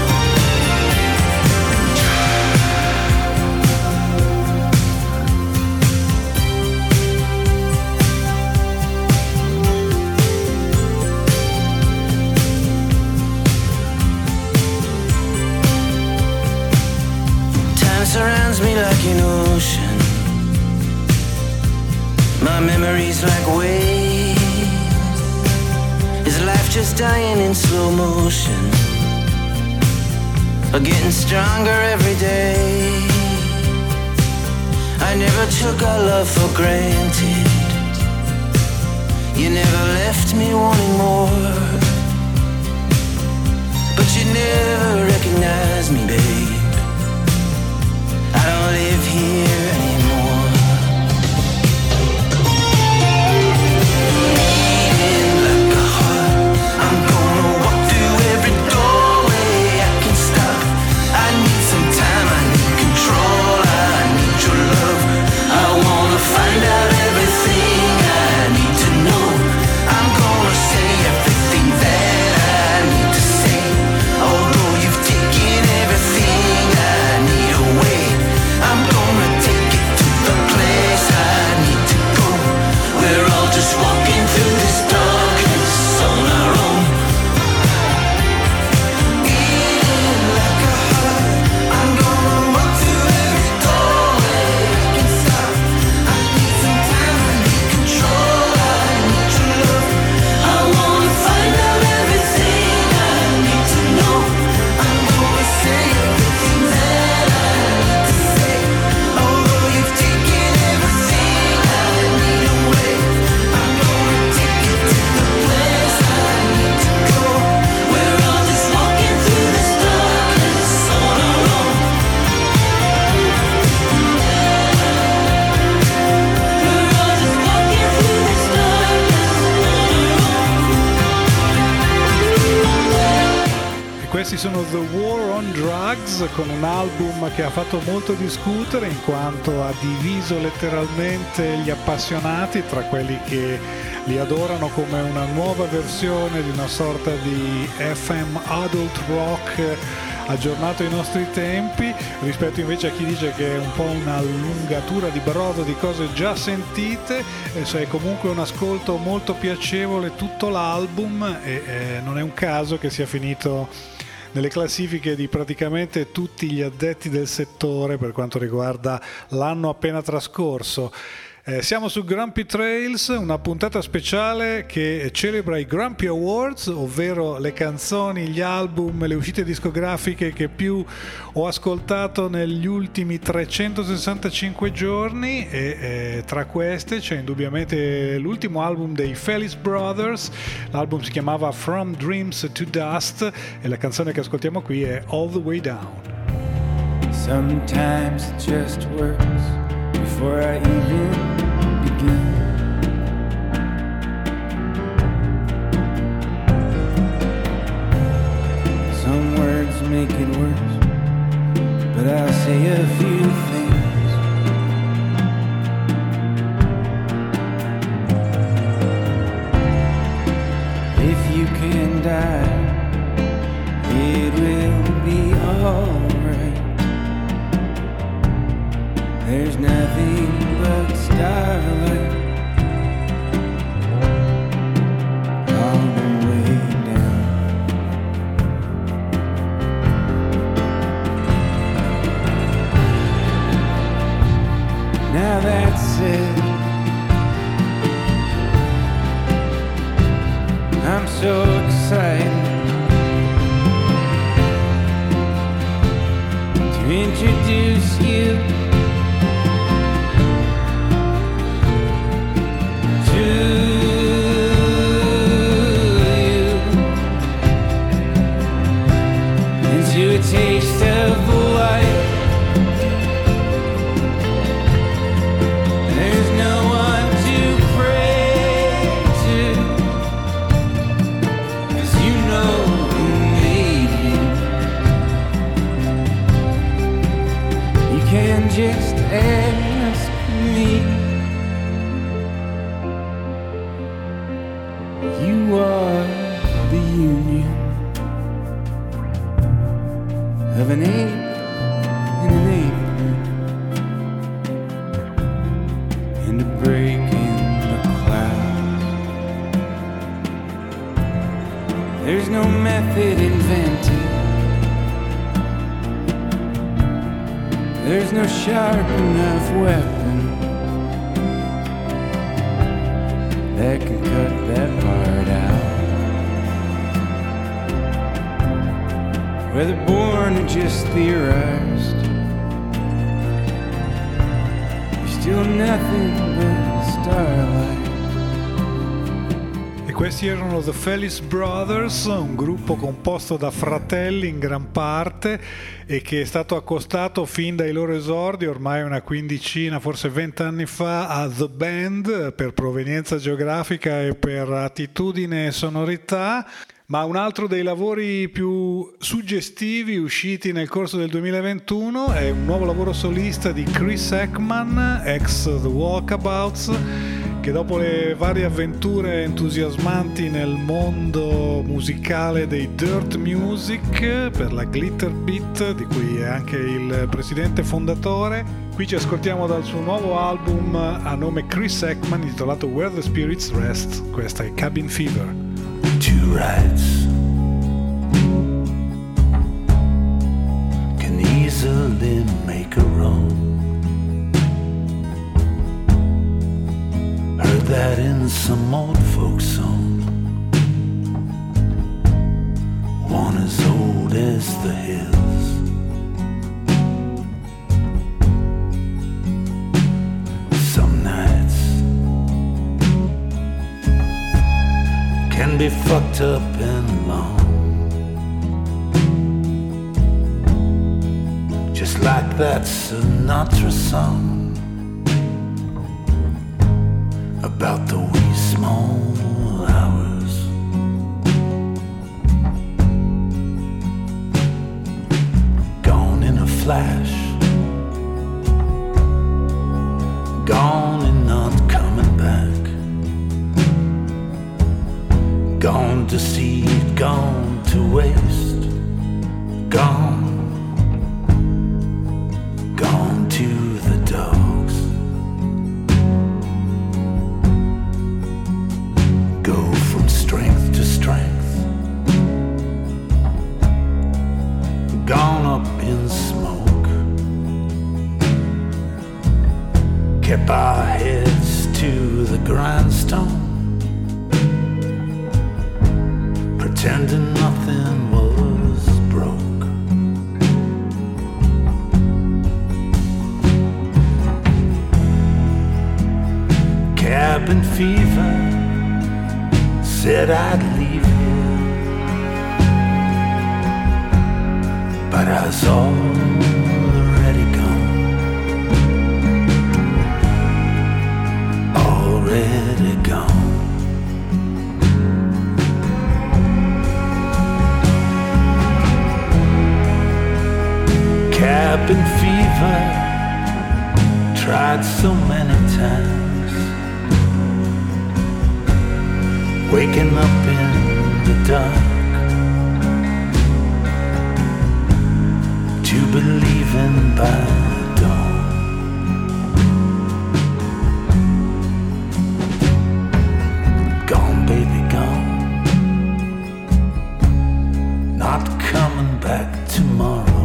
Surrounds me like an ocean. My memories like waves. Is life just dying in slow motion, or getting stronger every day? I never took our love for granted. You never left me wanting more, but you never recognized me, babe. I don't live here anymore. Beating like a heart, I'm gonna walk through every doorway I can stop. I need some time, I need control, I need your love. I wanna find out everything I need to know. I'm gonna say everything that I need to say. Although you've taken everything I need away, I'm gonna take Questi sono The War on Drugs, con un album che ha fatto molto discutere in quanto ha diviso letteralmente gli appassionati tra quelli che li adorano come una nuova versione di una sorta di FM adult rock aggiornato ai nostri tempi, rispetto invece a chi dice che è un po' un'allungatura di brodo di cose già sentite. È comunque un ascolto molto piacevole tutto l'album e non è un caso che sia finito nelle classifiche di praticamente tutti gli addetti del settore per quanto riguarda l'anno appena trascorso. Siamo su Grumpy Trails, una puntata speciale che celebra i Grumpy Awards, ovvero le canzoni, gli album, le uscite discografiche che più ho ascoltato negli ultimi 365 giorni e tra queste c'è indubbiamente l'ultimo album dei Felice Brothers. L'album si chiamava From Dreams to Dust e la canzone che ascoltiamo qui è All the Way Down. Sometimes it just works before I even begin. Some words make it worse, but I'll say a few things. If you can die, it will be alright. There's nothing but starlight all the way down. Now that's it. I'm so excited to introduce you into a taste of life. There's no one to pray to, 'cause you know who made you. You can just ask me. You are the union of an ape and an apron, and a break in the clouds. There's no method invented, there's no sharp enough weapon that can cut that part out. Whether born or just theorized, you're still nothing but starlight. E questi erano The Felice Brothers, un gruppo composto da fratelli in gran parte e che è stato accostato fin dai loro esordi, ormai una quindicina, forse 20 anni fa, a The Band per provenienza geografica e per attitudine e sonorità. Ma un altro dei lavori più suggestivi usciti nel corso del 2021 è un nuovo lavoro solista di Chris Ekman, ex The Walkabouts, che dopo le varie avventure entusiasmanti nel mondo musicale dei dirt music per la Glitter Beat, di cui è anche il presidente fondatore, qui ci ascoltiamo dal suo nuovo album a nome Chris Ekman intitolato Where the Spirits Rest. Questa è Cabin Fever. Two rights can easily make a wrong. Heard that in some old folk song. One as old as the hills. Some nights can be fucked up and long, just like that Sinatra song about the wee small hours. flash, gone and not coming back, gone to seed, gone to waste, gone to the dogs. Go from strength to strength, gone up in smoke, kept our heads to the grindstone, pretending nothing was broke. Cabin fever said I'd leave here, but I was already gone, already gone. Cabin fever tried so many times, waking up in the dark to believing by dawn. Gone, baby, gone, not coming back tomorrow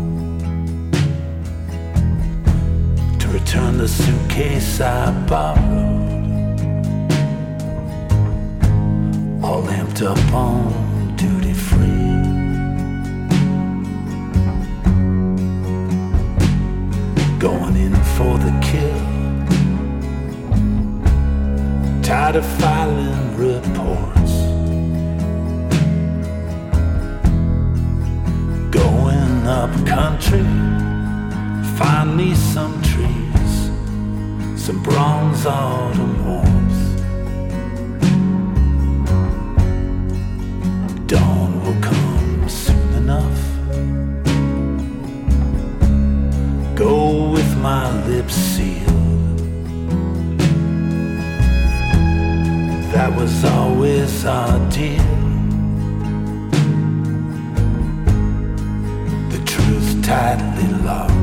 to return the suitcase I borrowed, all amped up on duty free. Going in for the kill, tired of filing reports, going up country, find me some trees, some bronze autumn warmth. Dawn will come soon enough. Go with my lips sealed. That was always our deal. The truth tightly locked.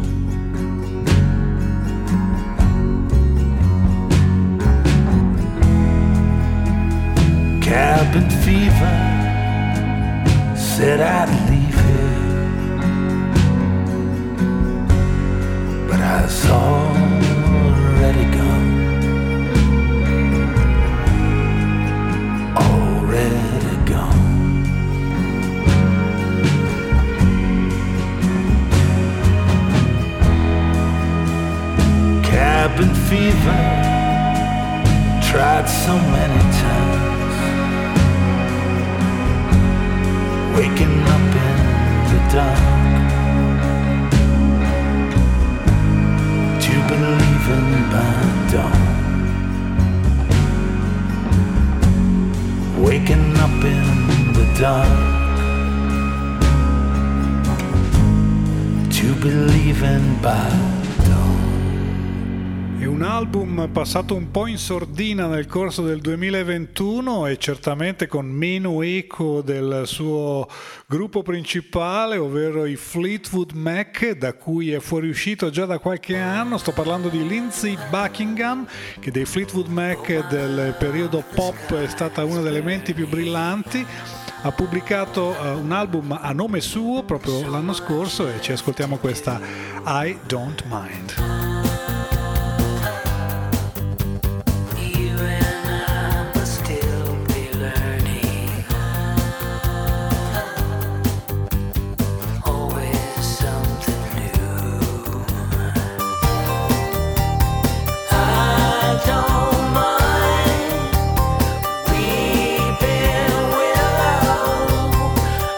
Cabin fever said I'd leave here, but I was already gone, already gone. Cabin fever tried so many times, waking up in the dark to believing by dawn, waking up in the dark to believing by dawn. È un album passato un po' in sordina nel corso del 2021 e certamente con meno eco del suo gruppo principale, ovvero i Fleetwood Mac, da cui è fuoriuscito già da qualche anno. Sto parlando di Lindsey Buckingham, che dei Fleetwood Mac del periodo pop è stata una delle menti più brillanti. Ha pubblicato un album a nome suo proprio l'anno scorso e ci ascoltiamo questa I Don't Mind.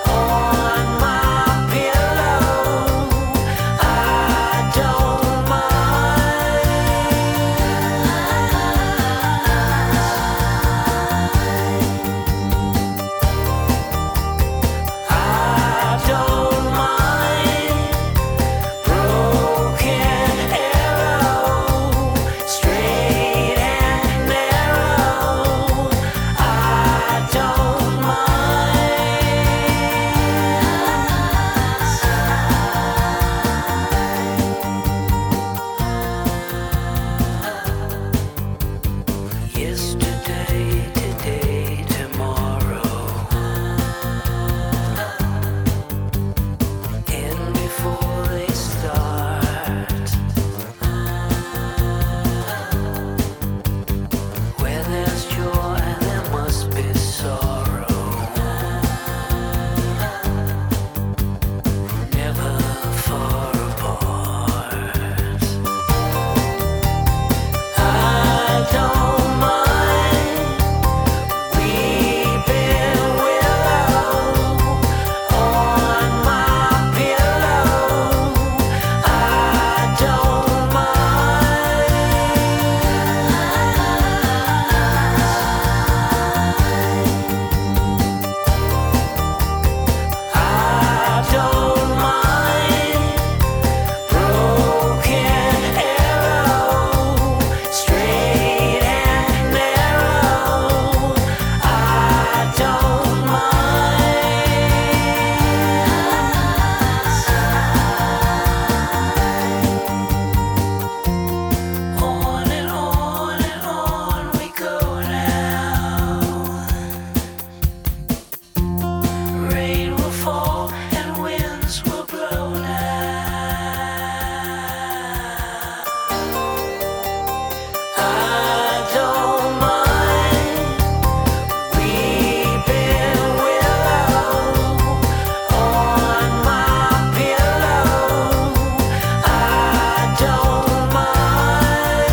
Don't mind. Yesterday, today, tomorrow. And before they start, where there's joy, there must be sorrow. Never far apart. I don't mind weeping willow on my pillow. I don't mind. I don't mind broken arrow, straight and narrow. I don't mind. On and on we go now. Rain will fall and winds will blow now. I don't mind weeping willow on my pillow. I don't mind.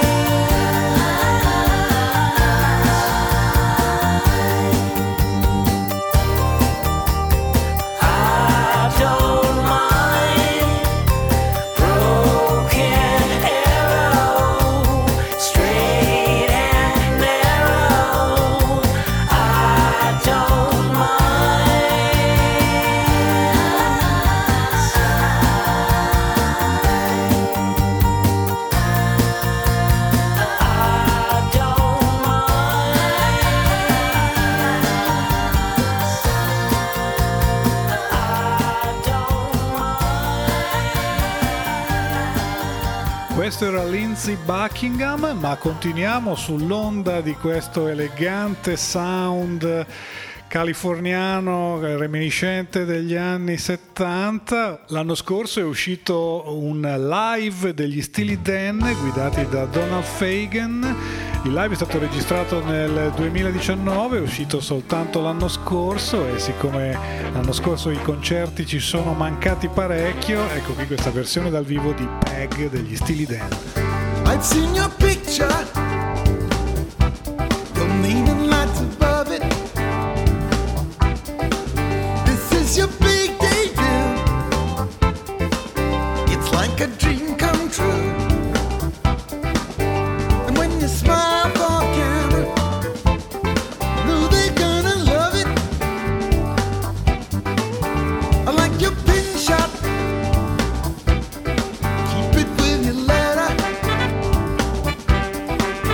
I don't mind broken arrow, straight and narrow. I don't mind. I don't Questo era Lindsey Buckingham, ma continuiamo sull'onda di questo elegante sound californiano reminiscente degli anni 70. L'anno scorso è uscito un live degli Steely Dan guidati da Donald Fagen. Il live è stato registrato nel 2019, è uscito soltanto l'anno scorso, e siccome l'anno scorso i concerti ci sono mancati parecchio, ecco qui questa versione dal vivo di Peg degli Steely Dan. I've seen your picture, your name in lights above it. This is your big debut. It's like a dream come true. And when you smile for camera, know they're gonna love it. I like your pin shot. Keep it with your letter.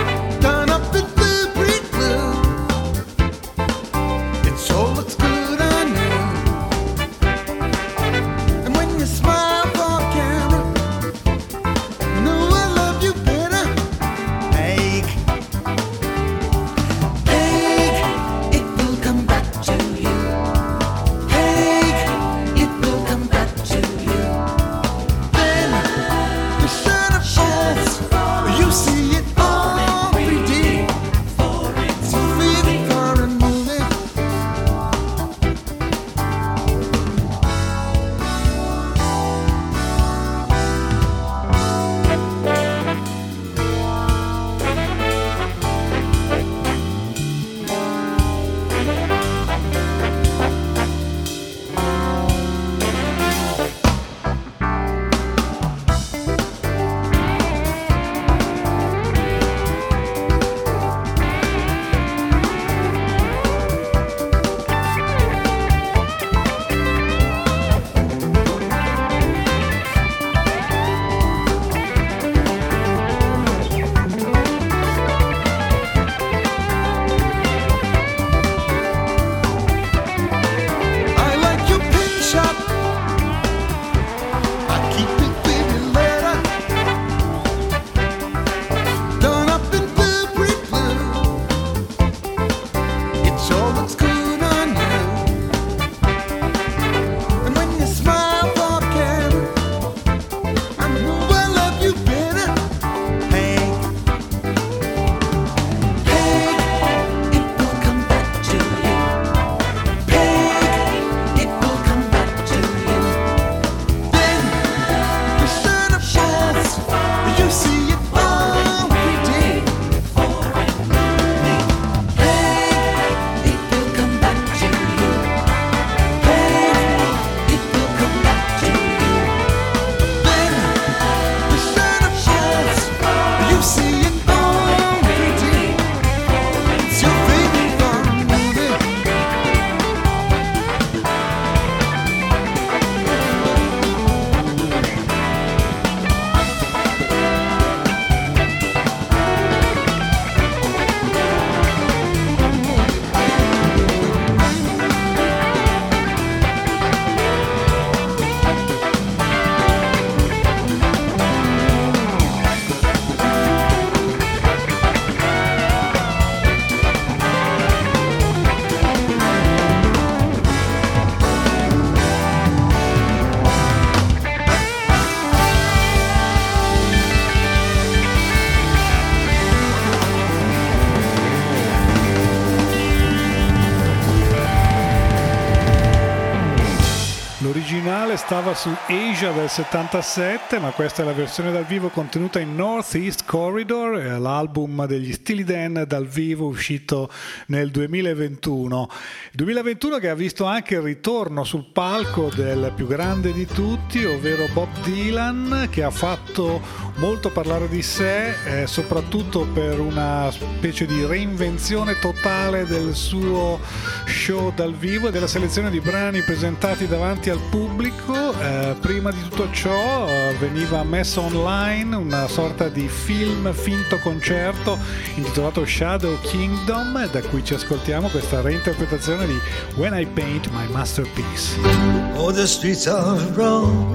originale stava su Asia del 77, ma questa è la versione dal vivo contenuta in Northeast Corridor, l'album degli Steely Dan dal vivo uscito nel 2021. 2021 che ha visto anche il ritorno sul palco del più grande di tutti, ovvero Bob Dylan, che ha fatto molto parlare di sé, soprattutto per una specie di reinvenzione totale del suo show dal vivo e della selezione di brani presentati davanti al pubblico. Prima di tutto ciò veniva messo online una sorta di film finto concerto intitolato Shadow Kingdom, da cui ci ascoltiamo questa reinterpretazione di When I Paint My Masterpiece. Oh, the streets of Rome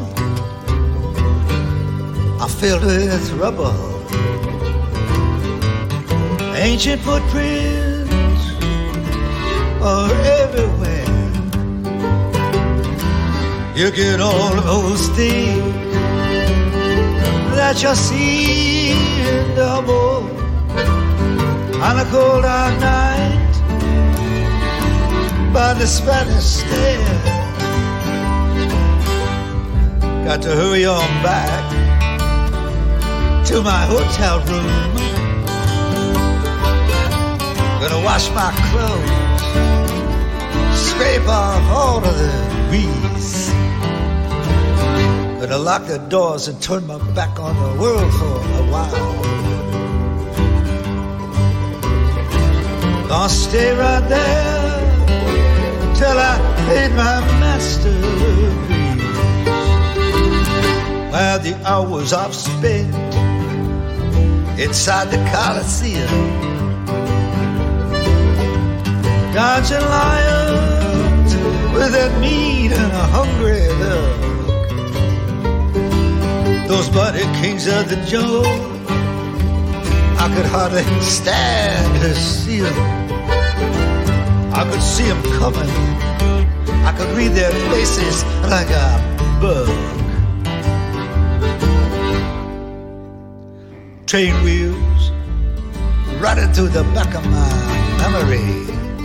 are filled with rubble, ancient footprints are everywhere. You get all those things that you see in double on a cold hot night by the Spanish Stair. Got to hurry on back to my hotel room. Gonna wash my clothes, scrape off all of the grease. Gonna lock the doors and turn my back on the world for a while. Gonna stay right there till I paid my masterpiece. While the hours I've spent inside the Coliseum, dodging lions with that mean and a hungry look. Those bloody kings of the jungle, I could hardly stand to see them. I could see them coming, I could read their faces like a bug. Train wheels running through the back of my memory.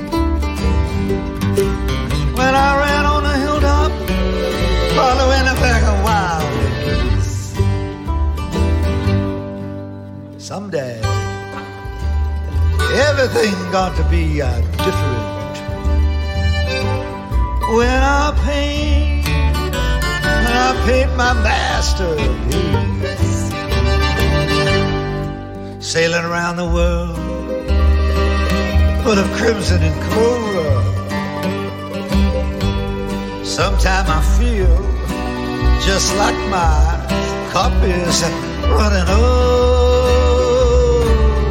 When I ran on a hilltop, following a pack of wild geese. Someday, everything's got to be different. When I paint my masterpiece. Sailing around the world, full of crimson and coral. Sometimes I feel just like my cup is running over.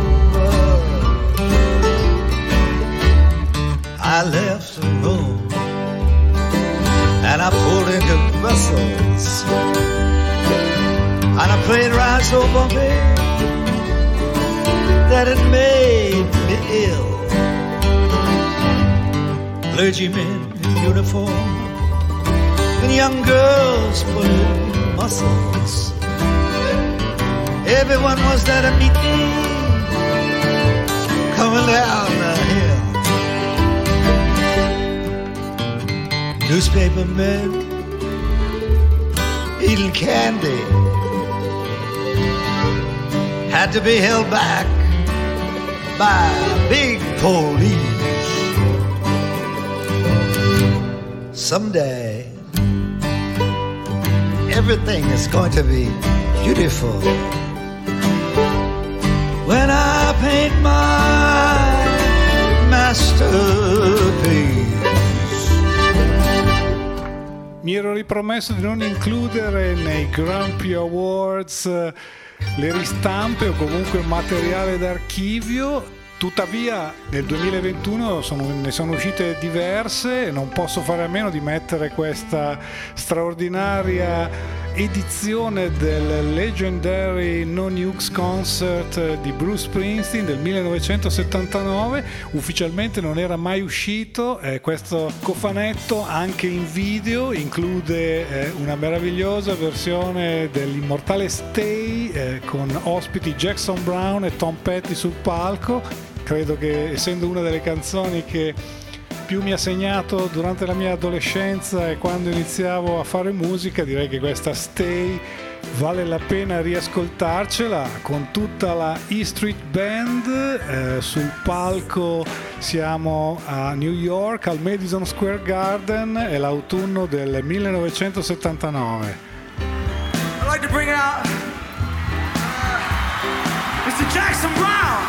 I left Rome and I pulled into Brussels on a plane ride so bumpy that it made me ill. Clergymen in uniform and young girls pulling muscles. Everyone was there to meet me coming down the hill. Newspaper men eating candy had to be held back by big police. Someday everything is going to be beautiful when I paint my masterpiece. Mi ero ripromesso di non includere nei Grumpy Awards le ristampe o comunque materiale d'archivio. Tuttavia nel 2021 ne sono uscite diverse e non posso fare a meno di mettere questa straordinaria edizione del Legendary No Nukes Concert di Bruce Springsteen del 1979. Ufficialmente non era mai uscito, questo cofanetto anche in video include una meravigliosa versione dell'immortale Stay con ospiti Jackson Browne e Tom Petty sul palco. Credo che, essendo una delle canzoni che più mi ha segnato durante la mia adolescenza e quando iniziavo a fare musica, direi che questa Stay vale la pena riascoltarcela con tutta la E Street Band. Sul palco siamo a New York al Madison Square Garden, è l'autunno del 1979. I'd like to bring out Mr. Jackson Brown.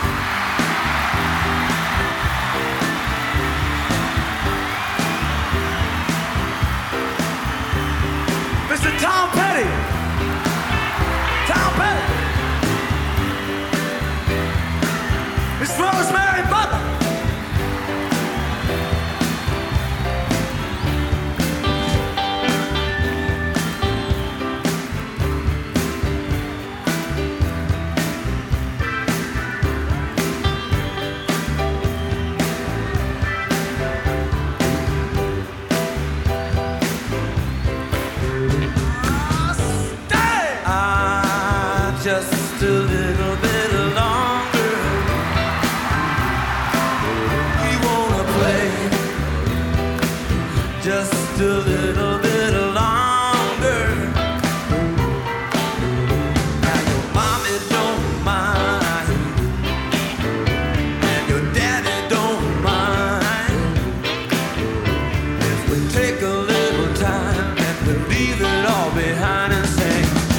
Mr. Tom Petty. Tom Petty. Miss Rosemary Butler. Just a little bit longer. We wanna play just a little bit longer. Now your mommy don't mind and your daddy don't mind if we take a little time and we leave it all behind and say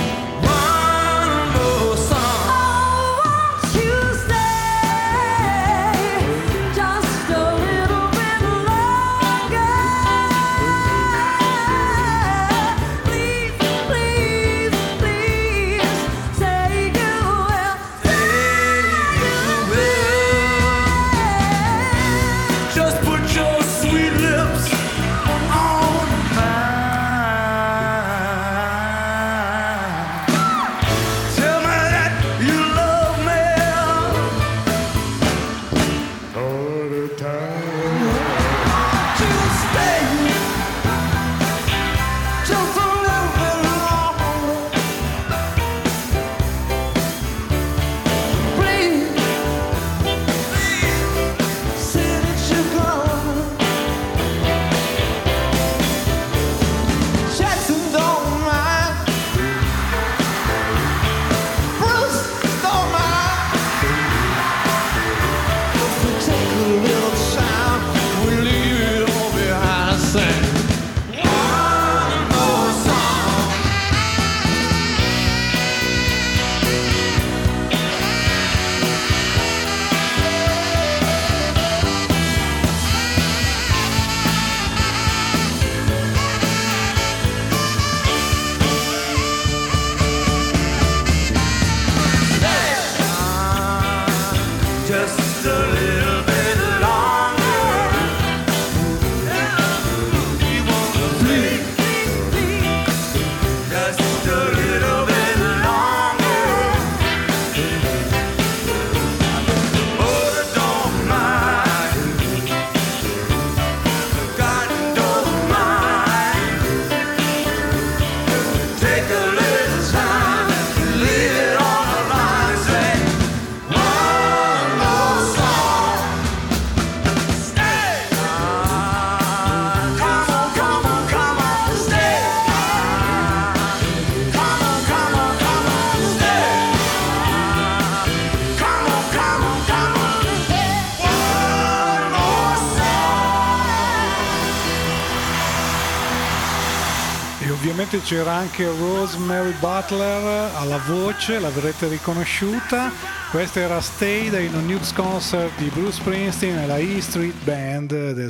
Ovviamente c'era anche Rosemary Butler alla voce, l'avrete riconosciuta. Questa era Stay dai No Nukes Concert di Bruce Springsteen e la E Street Band del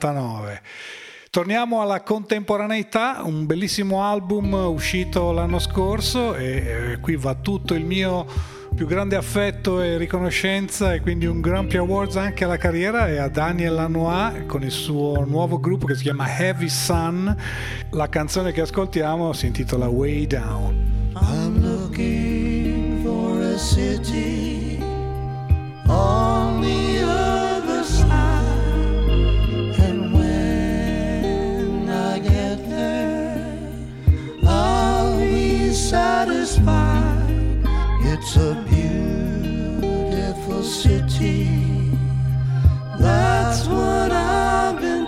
79. Torniamo alla contemporaneità, un bellissimo album uscito l'anno scorso e qui va tutto il mio più grande affetto e riconoscenza e quindi un Grammy Awards anche alla carriera e a Daniel Lanois con il suo nuovo gruppo che si chiama Heavy Sun. La canzone che ascoltiamo si intitola Way Down. I'm looking for a city on the other side, and when I get there I'll be satisfied. It's a beautiful city, that's what I've been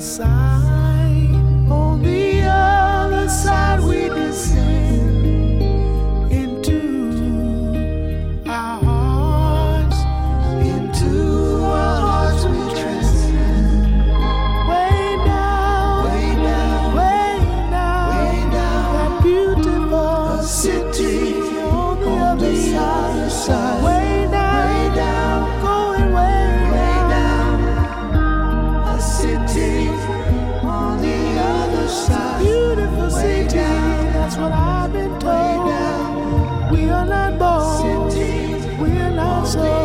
side. On the other side we descend into our hearts. Into our hearts we transcend. Way down, way down, way down, way down. That beautiful city on the other side. Way down, way down, going way down. A city on the other side. Beautiful city, that's what I've been told. We are not bold, we are not sold.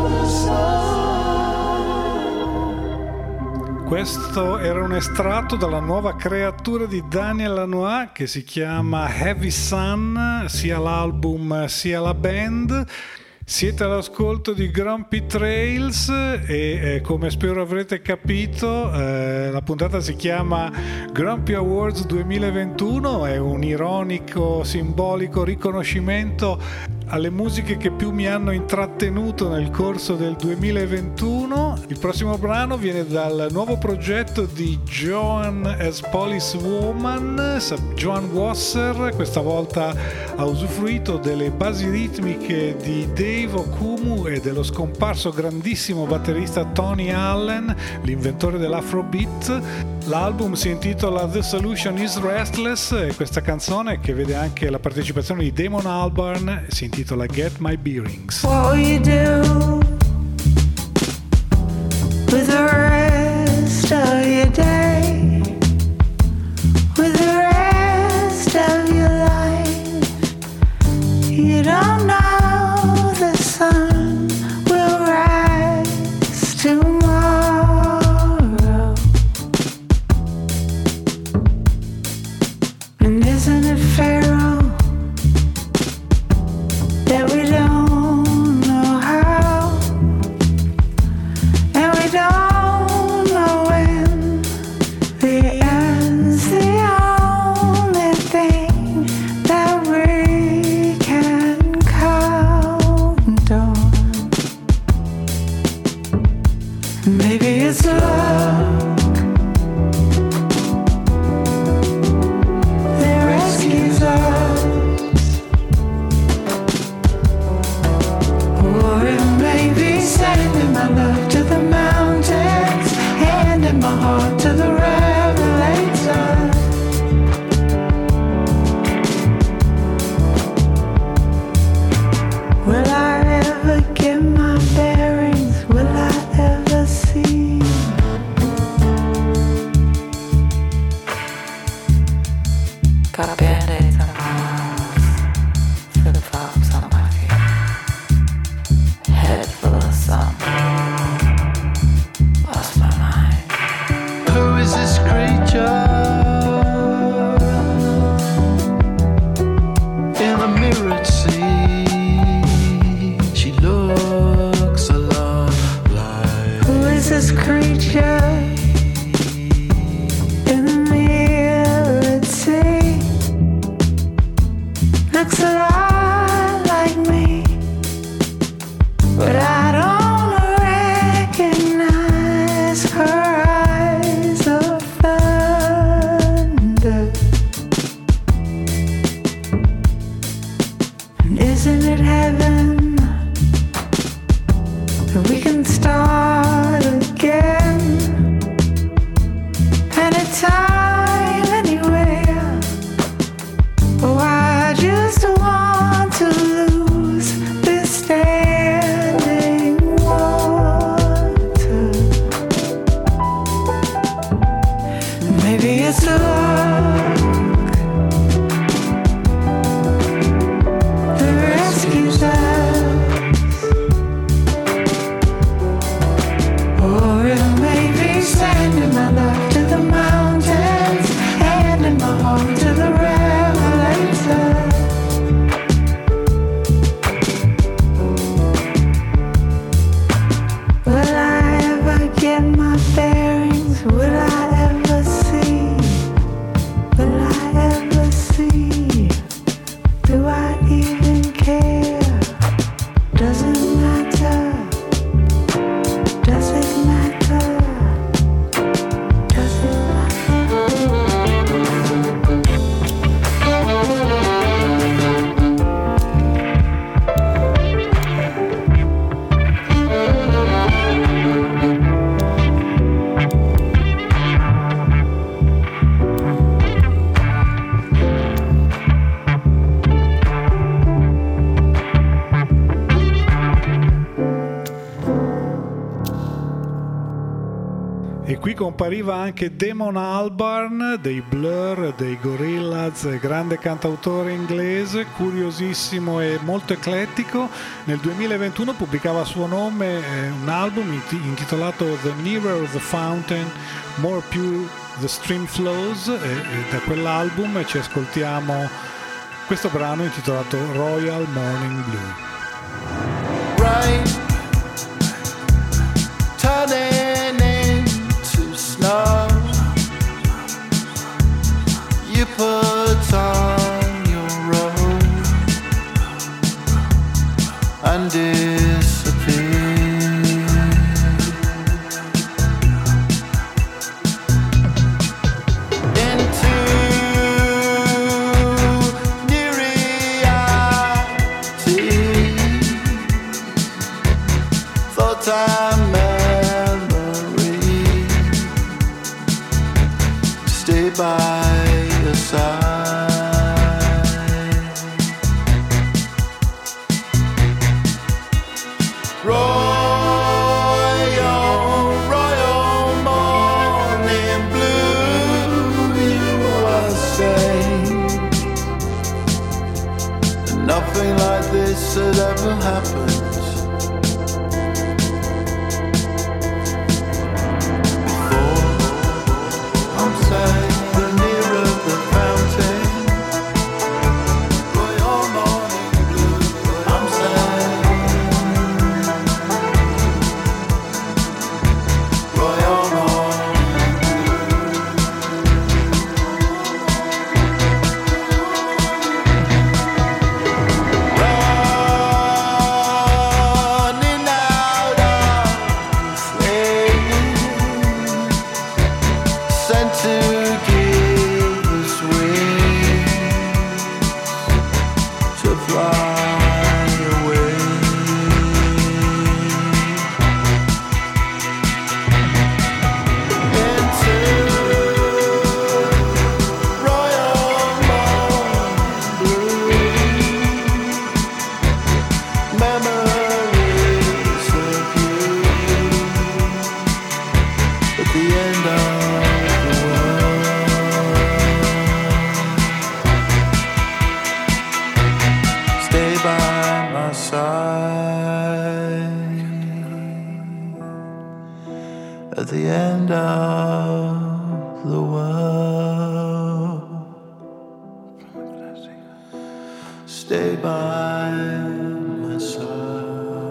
Questo era un estratto dalla nuova creatura di Daniel Lanois che si chiama Heavy Sun, sia l'album sia la band. Siete all'ascolto di Grumpy Trails e come spero avrete capito la puntata si chiama Grumpy Awards 2021, è un ironico, simbolico riconoscimento alle musiche che più mi hanno intrattenuto nel corso del 2021. Il prossimo brano viene dal nuovo progetto di Joan as Policewoman, Joan Wasser. Questa volta ha usufruito delle basi ritmiche di Dave Okumu e dello scomparso grandissimo batterista Tony Allen, l'inventore dell'Afrobeat. L'album si intitola The Solution is Restless e questa canzone, che vede anche la partecipazione di Damon Albarn, si intitola Get My Bearings. What will you do with the rest of your day? With the rest of your life? You don't know the sun will rise tomorrow. And isn't it fair that we don't know how, and we don't know when? The end's the only thing that we can count on. Maybe it's luck that rescues us. Or it may be sending my love to the mountains, handing my heart to the revelator. Will I ever get my bearings? Will I ever see? Got band-aids on my arms, for the fogs on my feet. Head full of sun, lost my mind. Who is this creature in the mirrored sea? She looks a lot like. Who is this creature in the mirrored sea? Looks a lot like me, but I don't recognize her eyes of thunder. And isn't it heaven that we can start again? Anytime, anywhere. Oh, I just want to lose this standing water. Maybe it's luck that rescues us, or it may be sending my love to the mountains, handing my heart to the revelator. Will I ever get my bearings? Will I ever see? compariva anche Damon Albarn dei Blur, dei Gorillaz, grande cantautore inglese, curiosissimo e molto eclettico. Nel 2021 pubblicava a suo nome un album intitolato The Nearer the Fountain, More Pure the Stream Flows, e da quell'album ci ascoltiamo questo brano intitolato Royal Morning Blue. Right, turning into snow. You put on your robe and disappear. Into new reality. Full-time memory. Stay by your side. Royal morning blue, you are saying. Nothing like this had ever happened. At the end of the world, stay by my side.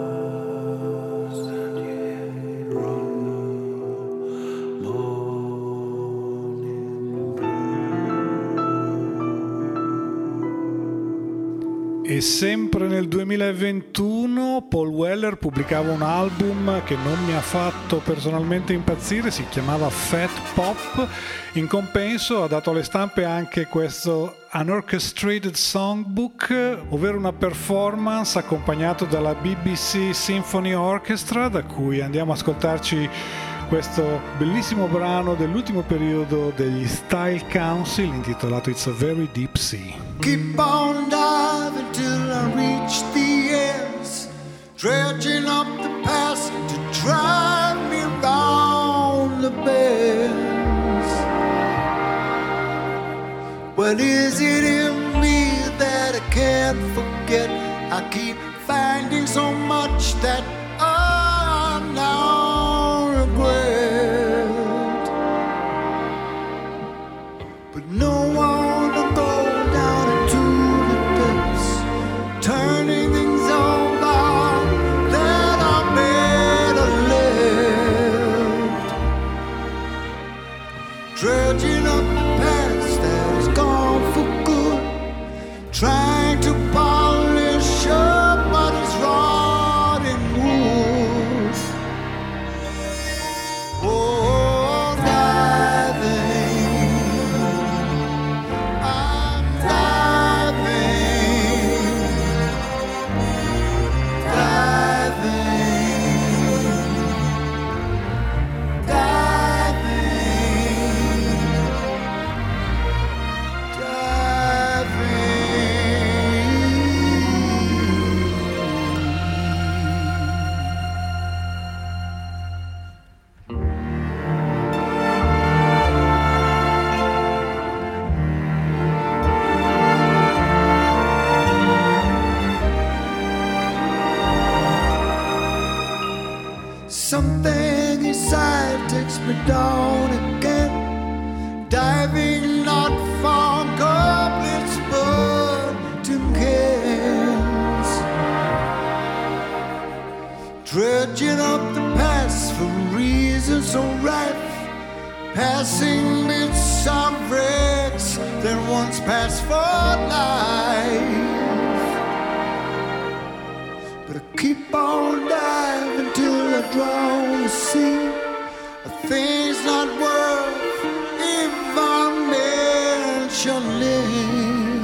E sempre nel 2021 Paul Weller pubblicava un album che non mi ha fatto personalmente impazzire, si chiamava Fat Pop. In compenso ha dato alle stampe anche questo Unorchestrated Songbook, ovvero una performance accompagnato dalla BBC Symphony Orchestra, da cui andiamo a ascoltarci questo bellissimo brano dell'ultimo periodo degli Style Council intitolato It's a Very Deep Sea. Keep on diving till I reach the ends, dredging up the past to drive me round the bends. What is it in me that I can't forget? I keep finding so much that I now regret, but no one to go down into the depths, turning things over that I better left, dredging up the past that is gone for good, trying to polish up what is rotting wood. Oh, diving, I'm diving, diving, diving, diving. passing bits of wrecks that once passed for life. But I keep on diving till I drown the sea. A thing's not worth even mentioning.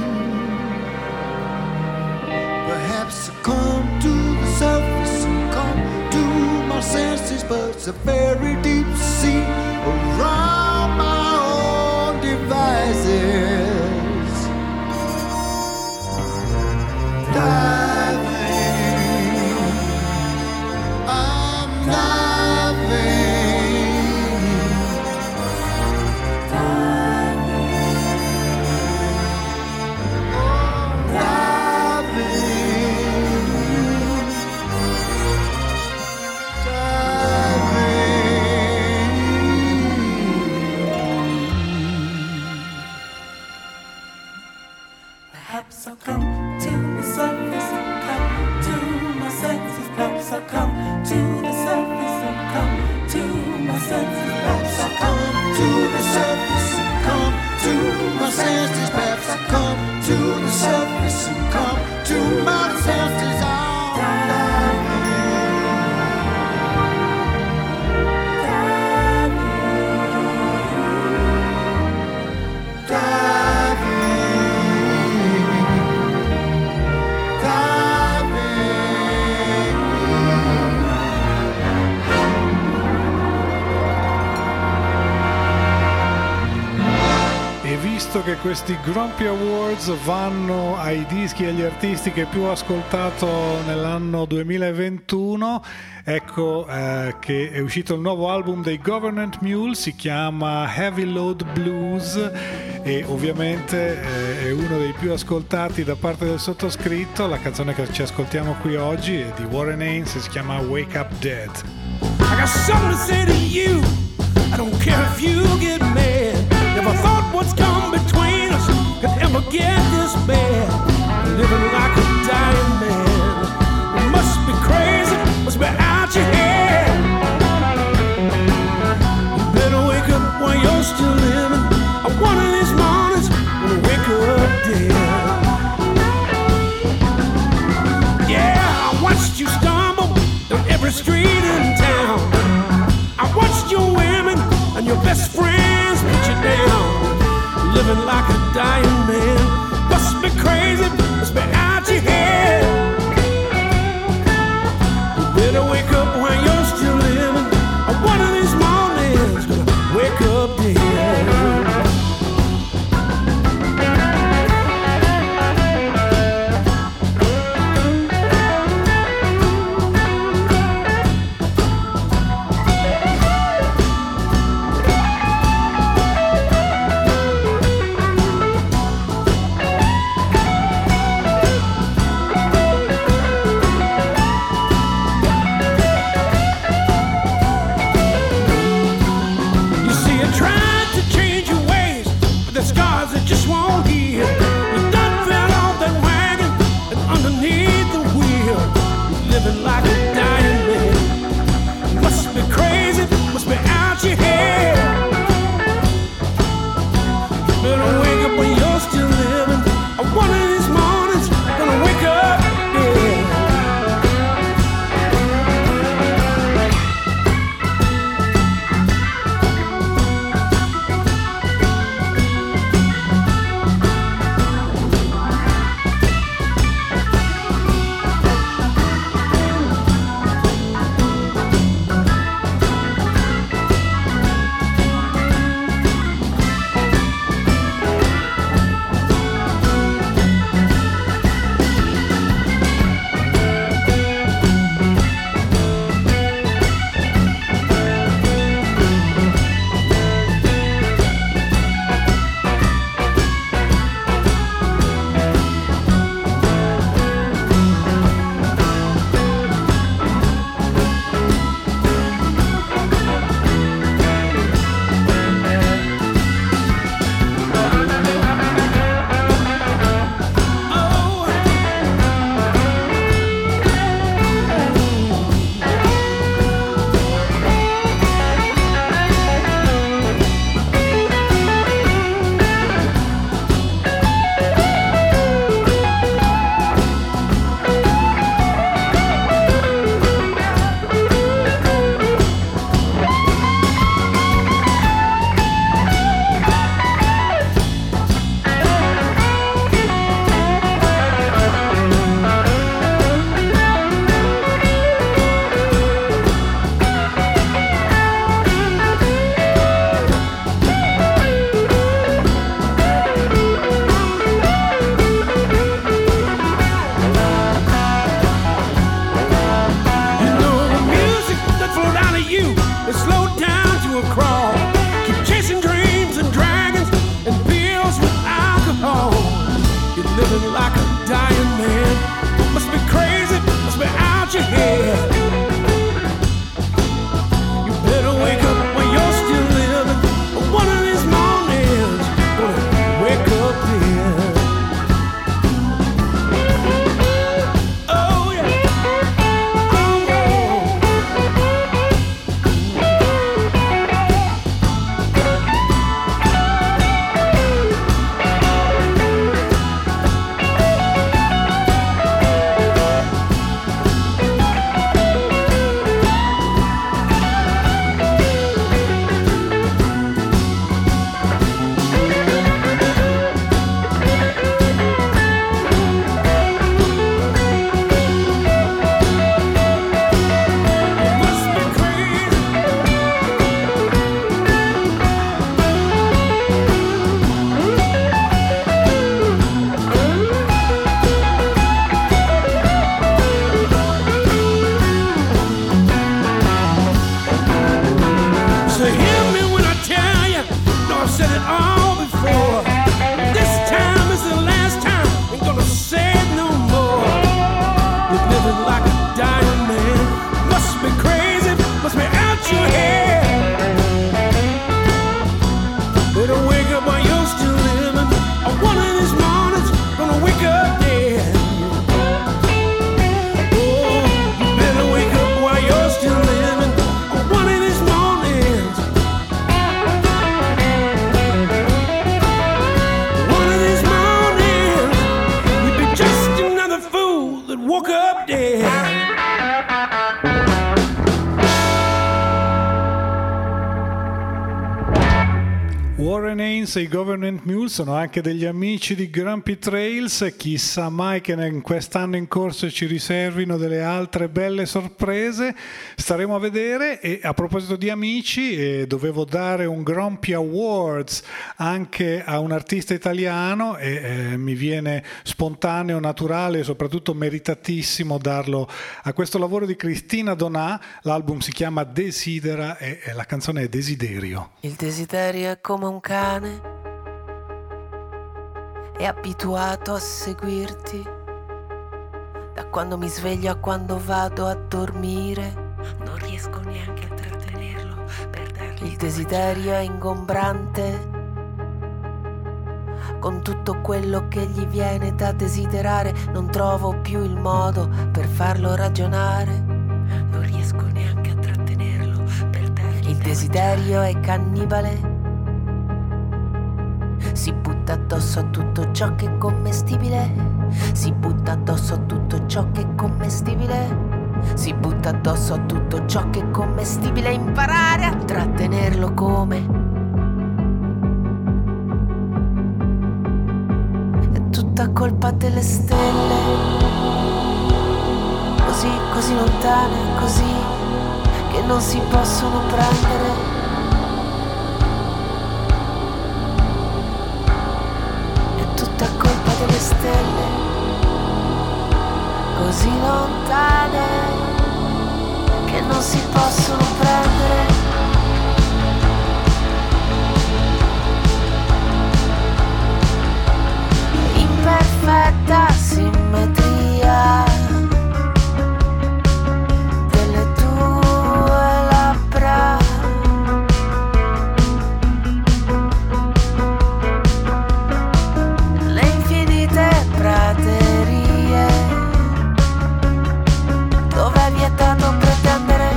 Perhaps I come to the surface and come to my senses, but it's a very deep sea around my own devices. Diving, I'm diving, oh, Perhaps I'll come to the surface and come to my senses. Perhaps I'll come to the surface and come to my senses. perhaps I'll come to the surface and come to my senses. Perhaps I'll come to the surface and come to my senses. I'm E visto che questi Grumpy Awards vanno ai dischi e agli artisti che più ho ascoltato nell'anno 2021, ecco che è uscito il nuovo album dei Government Mule, si chiama Heavy Load Blues e ovviamente è uno dei più ascoltati da parte del sottoscritto. La canzone che ci ascoltiamo qui oggi è di Warren Haynes e si chiama Wake Up Dead. I got something to say to you. I don't care if you get mad. Never thought what's come between us could ever get this bad. Living like a dying man. It must be crazy, must be out your head. You better wake up while you're still living. One of these mornings, gonna wake up dead. Yeah, I watched you stumble down every street in town. I watched your women and your best friends put you down. Living like a dying man. Must be crazy, must be out your head. You better wake up while you're still living. One of these mornings, gonna wake up dead. said it all before. This time is the last time. Ain't gonna say it no more. You're living like a dying man. Must be crazy, must be out your head. Better wake up while you're still living. Or one of these mornings, gonna wake up dead. Oh, you better wake up while you're still living. Or one of these mornings. One of these mornings, you'd be just another fool that woke up dead. Warren Haynes e i Government Mule sono anche degli amici di Grumpy Trails. Chissà mai che in quest'anno in corso ci riservino delle altre belle sorprese, staremo a vedere. E a proposito di amici, dovevo dare un Grumpy Awards anche a un artista italiano e mi viene spontaneo, naturale e soprattutto meritatissimo darlo a questo lavoro di Cristina Donà. L'album si chiama Desidera e la canzone è Desiderio. Il desiderio è come un cane, è abituato a seguirti da quando mi sveglio a quando vado a dormire. Non riesco neanche a trattenerlo per dargli. Il desiderio è ingombrante, con tutto quello che gli viene da desiderare. Non trovo più il modo per farlo ragionare. Non riesco neanche a trattenerlo per dargli. Il desiderio è cannibale, si butta addosso a tutto ciò che è commestibile. Si butta addosso a tutto ciò che è commestibile. Si butta addosso a tutto ciò che è commestibile. Imparare a trattenerlo come. È tutta colpa delle stelle, così lontane, così che non si possono prendere. Delle stelle così lontane che non si possono prendere. Imperfetta simmetria delle tue labbra, praterie dove è vietato pretendere.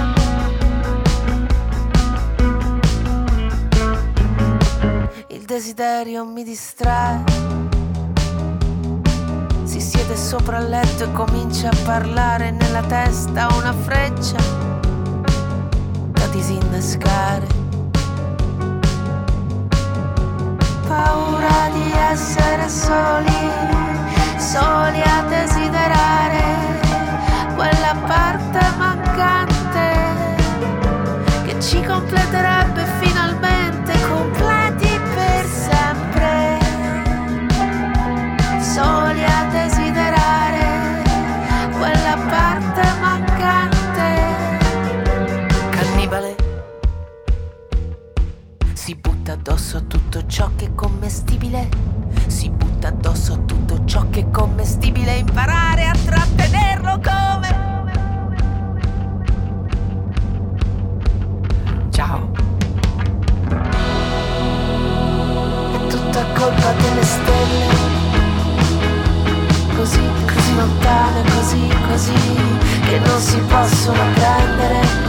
Il desiderio mi distrae, si siede sopra il letto e comincia a parlare. Nella testa una freccia da disinnescare. Paura di essere soli a desiderare quella parte mancante che ci completerebbe finalmente, completi per sempre. Soli a desiderare quella parte mancante. Cannibale si butta addosso a tutto ciò che è commestibile. Si butta addosso a tutto ciò che è commestibile. Imparare a trattenerlo come. Ciao. È tutta colpa delle stelle, così lontane, così che non si possono prendere.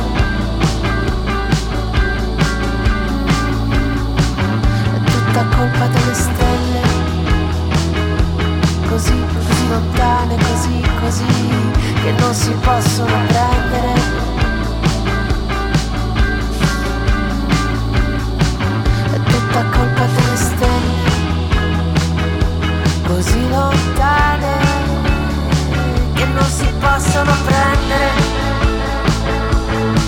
Tutta colpa delle stelle, così lontane, così che non si possono prendere. È tutta colpa delle stelle, così lontane che non si possono prendere.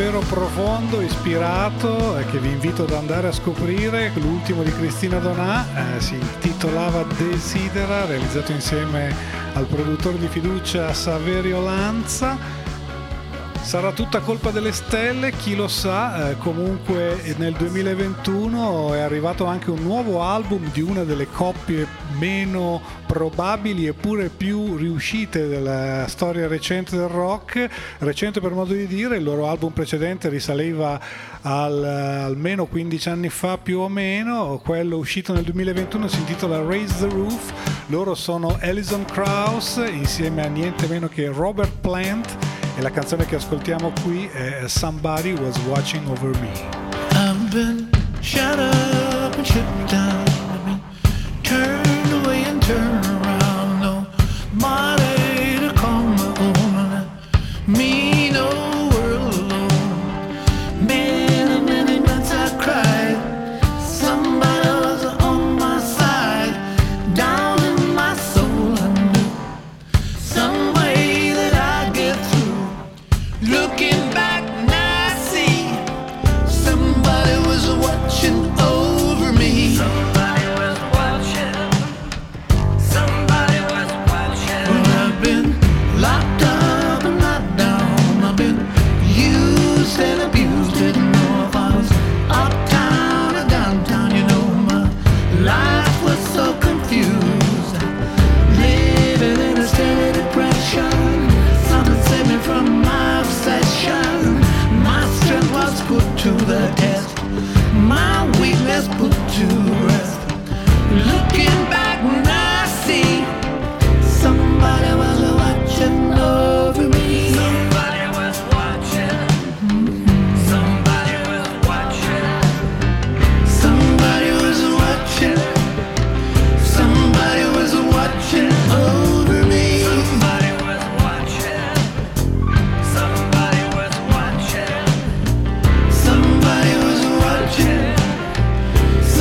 davvero profondo, ispirato, che vi invito ad andare a scoprire. L'ultimo di Cristina Donà si intitolava Desidera, realizzato insieme al produttore di fiducia Saverio Lanza. Sarà tutta colpa delle stelle, chi lo sa. Comunque nel 2021 è arrivato anche un nuovo album di una delle coppie meno probabili eppure più riuscite della storia recente del rock, recente per modo di dire. Il loro album precedente risaliva almeno 15 anni fa più o meno, quello uscito nel 2021 si intitola Raise the Roof. Loro sono Alison Krauss insieme a niente meno che Robert Plant e la canzone che ascoltiamo qui è Somebody Was Watching Over Me. I've been shut up and shut down, I've been turned away and turned around, no money to call my own, me no world alone. Many nights I cried, somebody was on my side, down in my soul I knew some way that I'd get through. Looking back now I see somebody was watching over me. Somebody was watching. Somebody was watching. Well, I've been locked up and locked down. I've been used and abused. Didn't know if I was uptown or downtown. You know my life was so confused. Living in a steady depression. Something saved me from my obsession. My strength was put to the test, my weakness put to rest. Looking back now I see somebody was watching over me. Somebody was watching. Somebody was watching. Somebody was watching. Somebody was watching over me. Somebody was watching. Somebody was watching. Somebody was watching.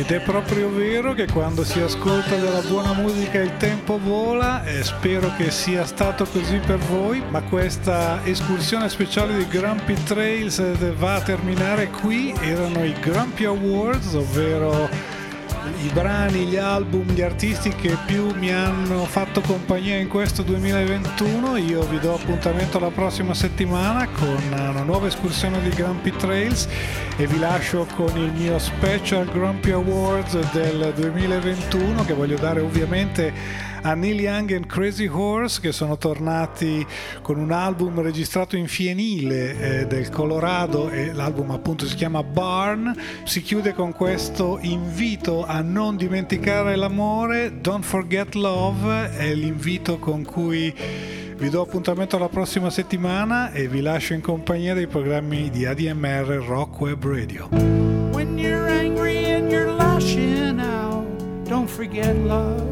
Ed è proprio vero che quando si ascolta della buona musica il tempo vola, e spero che sia stato così per voi, ma questa escursione speciale di Grumpy Trails va a terminare qui. Erano i Grumpy Awards, ovvero i brani, gli album, gli artisti che più mi hanno fatto compagnia in questo 2021. Io vi do appuntamento la prossima settimana con una nuova escursione di Grumpy Trails e vi lascio con il mio special Grumpy Awards del 2021 che voglio dare ovviamente a Neil Young and Crazy Horse, che sono tornati con un album registrato in fienile del Colorado, e l'album appunto si chiama Barn. Si chiude con questo invito a non dimenticare l'amore, Don't Forget Love, è l'invito con cui vi do appuntamento alla prossima settimana e vi lascio in compagnia dei programmi di ADMR Rock Web Radio. When you're angry and you're lashing out, don't forget love.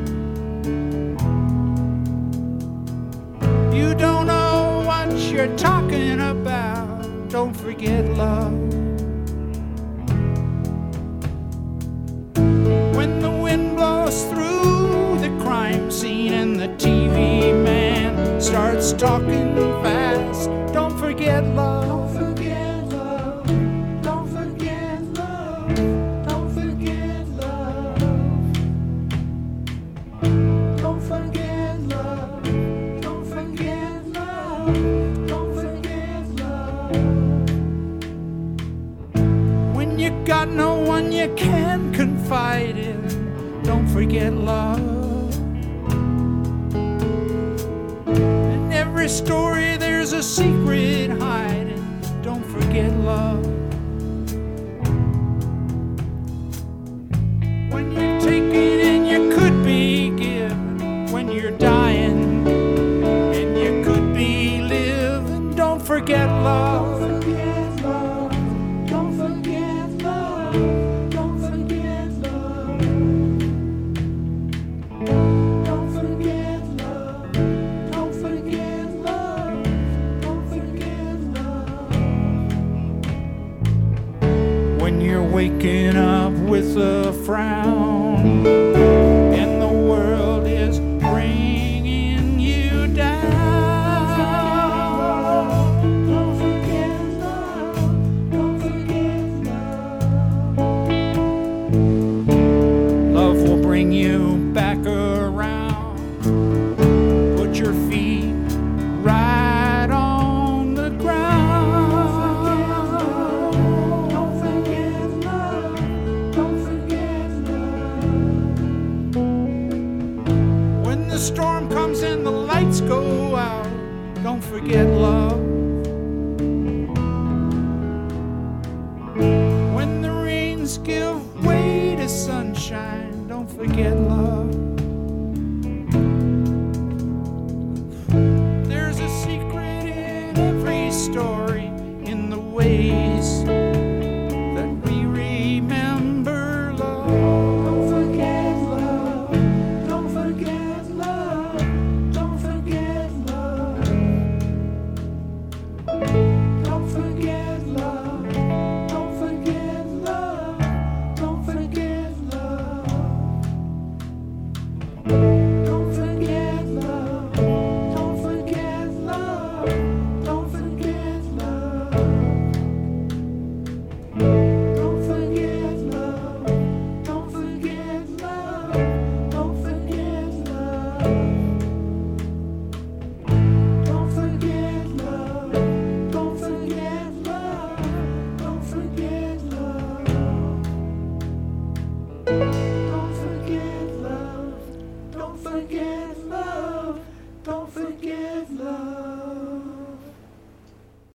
You don't know what you're talking about, don't forget love. When the wind blows through the crime scene and the TV man starts talking fast, don't forget love. Don't forget love. Don't forget love. Don't forget love. Don't forget love. Don't forget love. Don't forget love. When you got no one you can confide in, don't forget love. In every story there's a secret hiding, don't forget love. When you're taking and you could be given, when you're dying and you could be living, don't forget love. Don't forget love. Don't forget love. Don't forget love. Don't forget love. Don't forget love. When you're waking up with a frown and the world is bringing you down, don't forget love. Don't forget love. Love will bring you back around. Put your feet right on the ground. Don't forget love. Don't forget love. When the storm comes and the lights go out, don't forget love. When the rains give way to sunshine, don't forget love.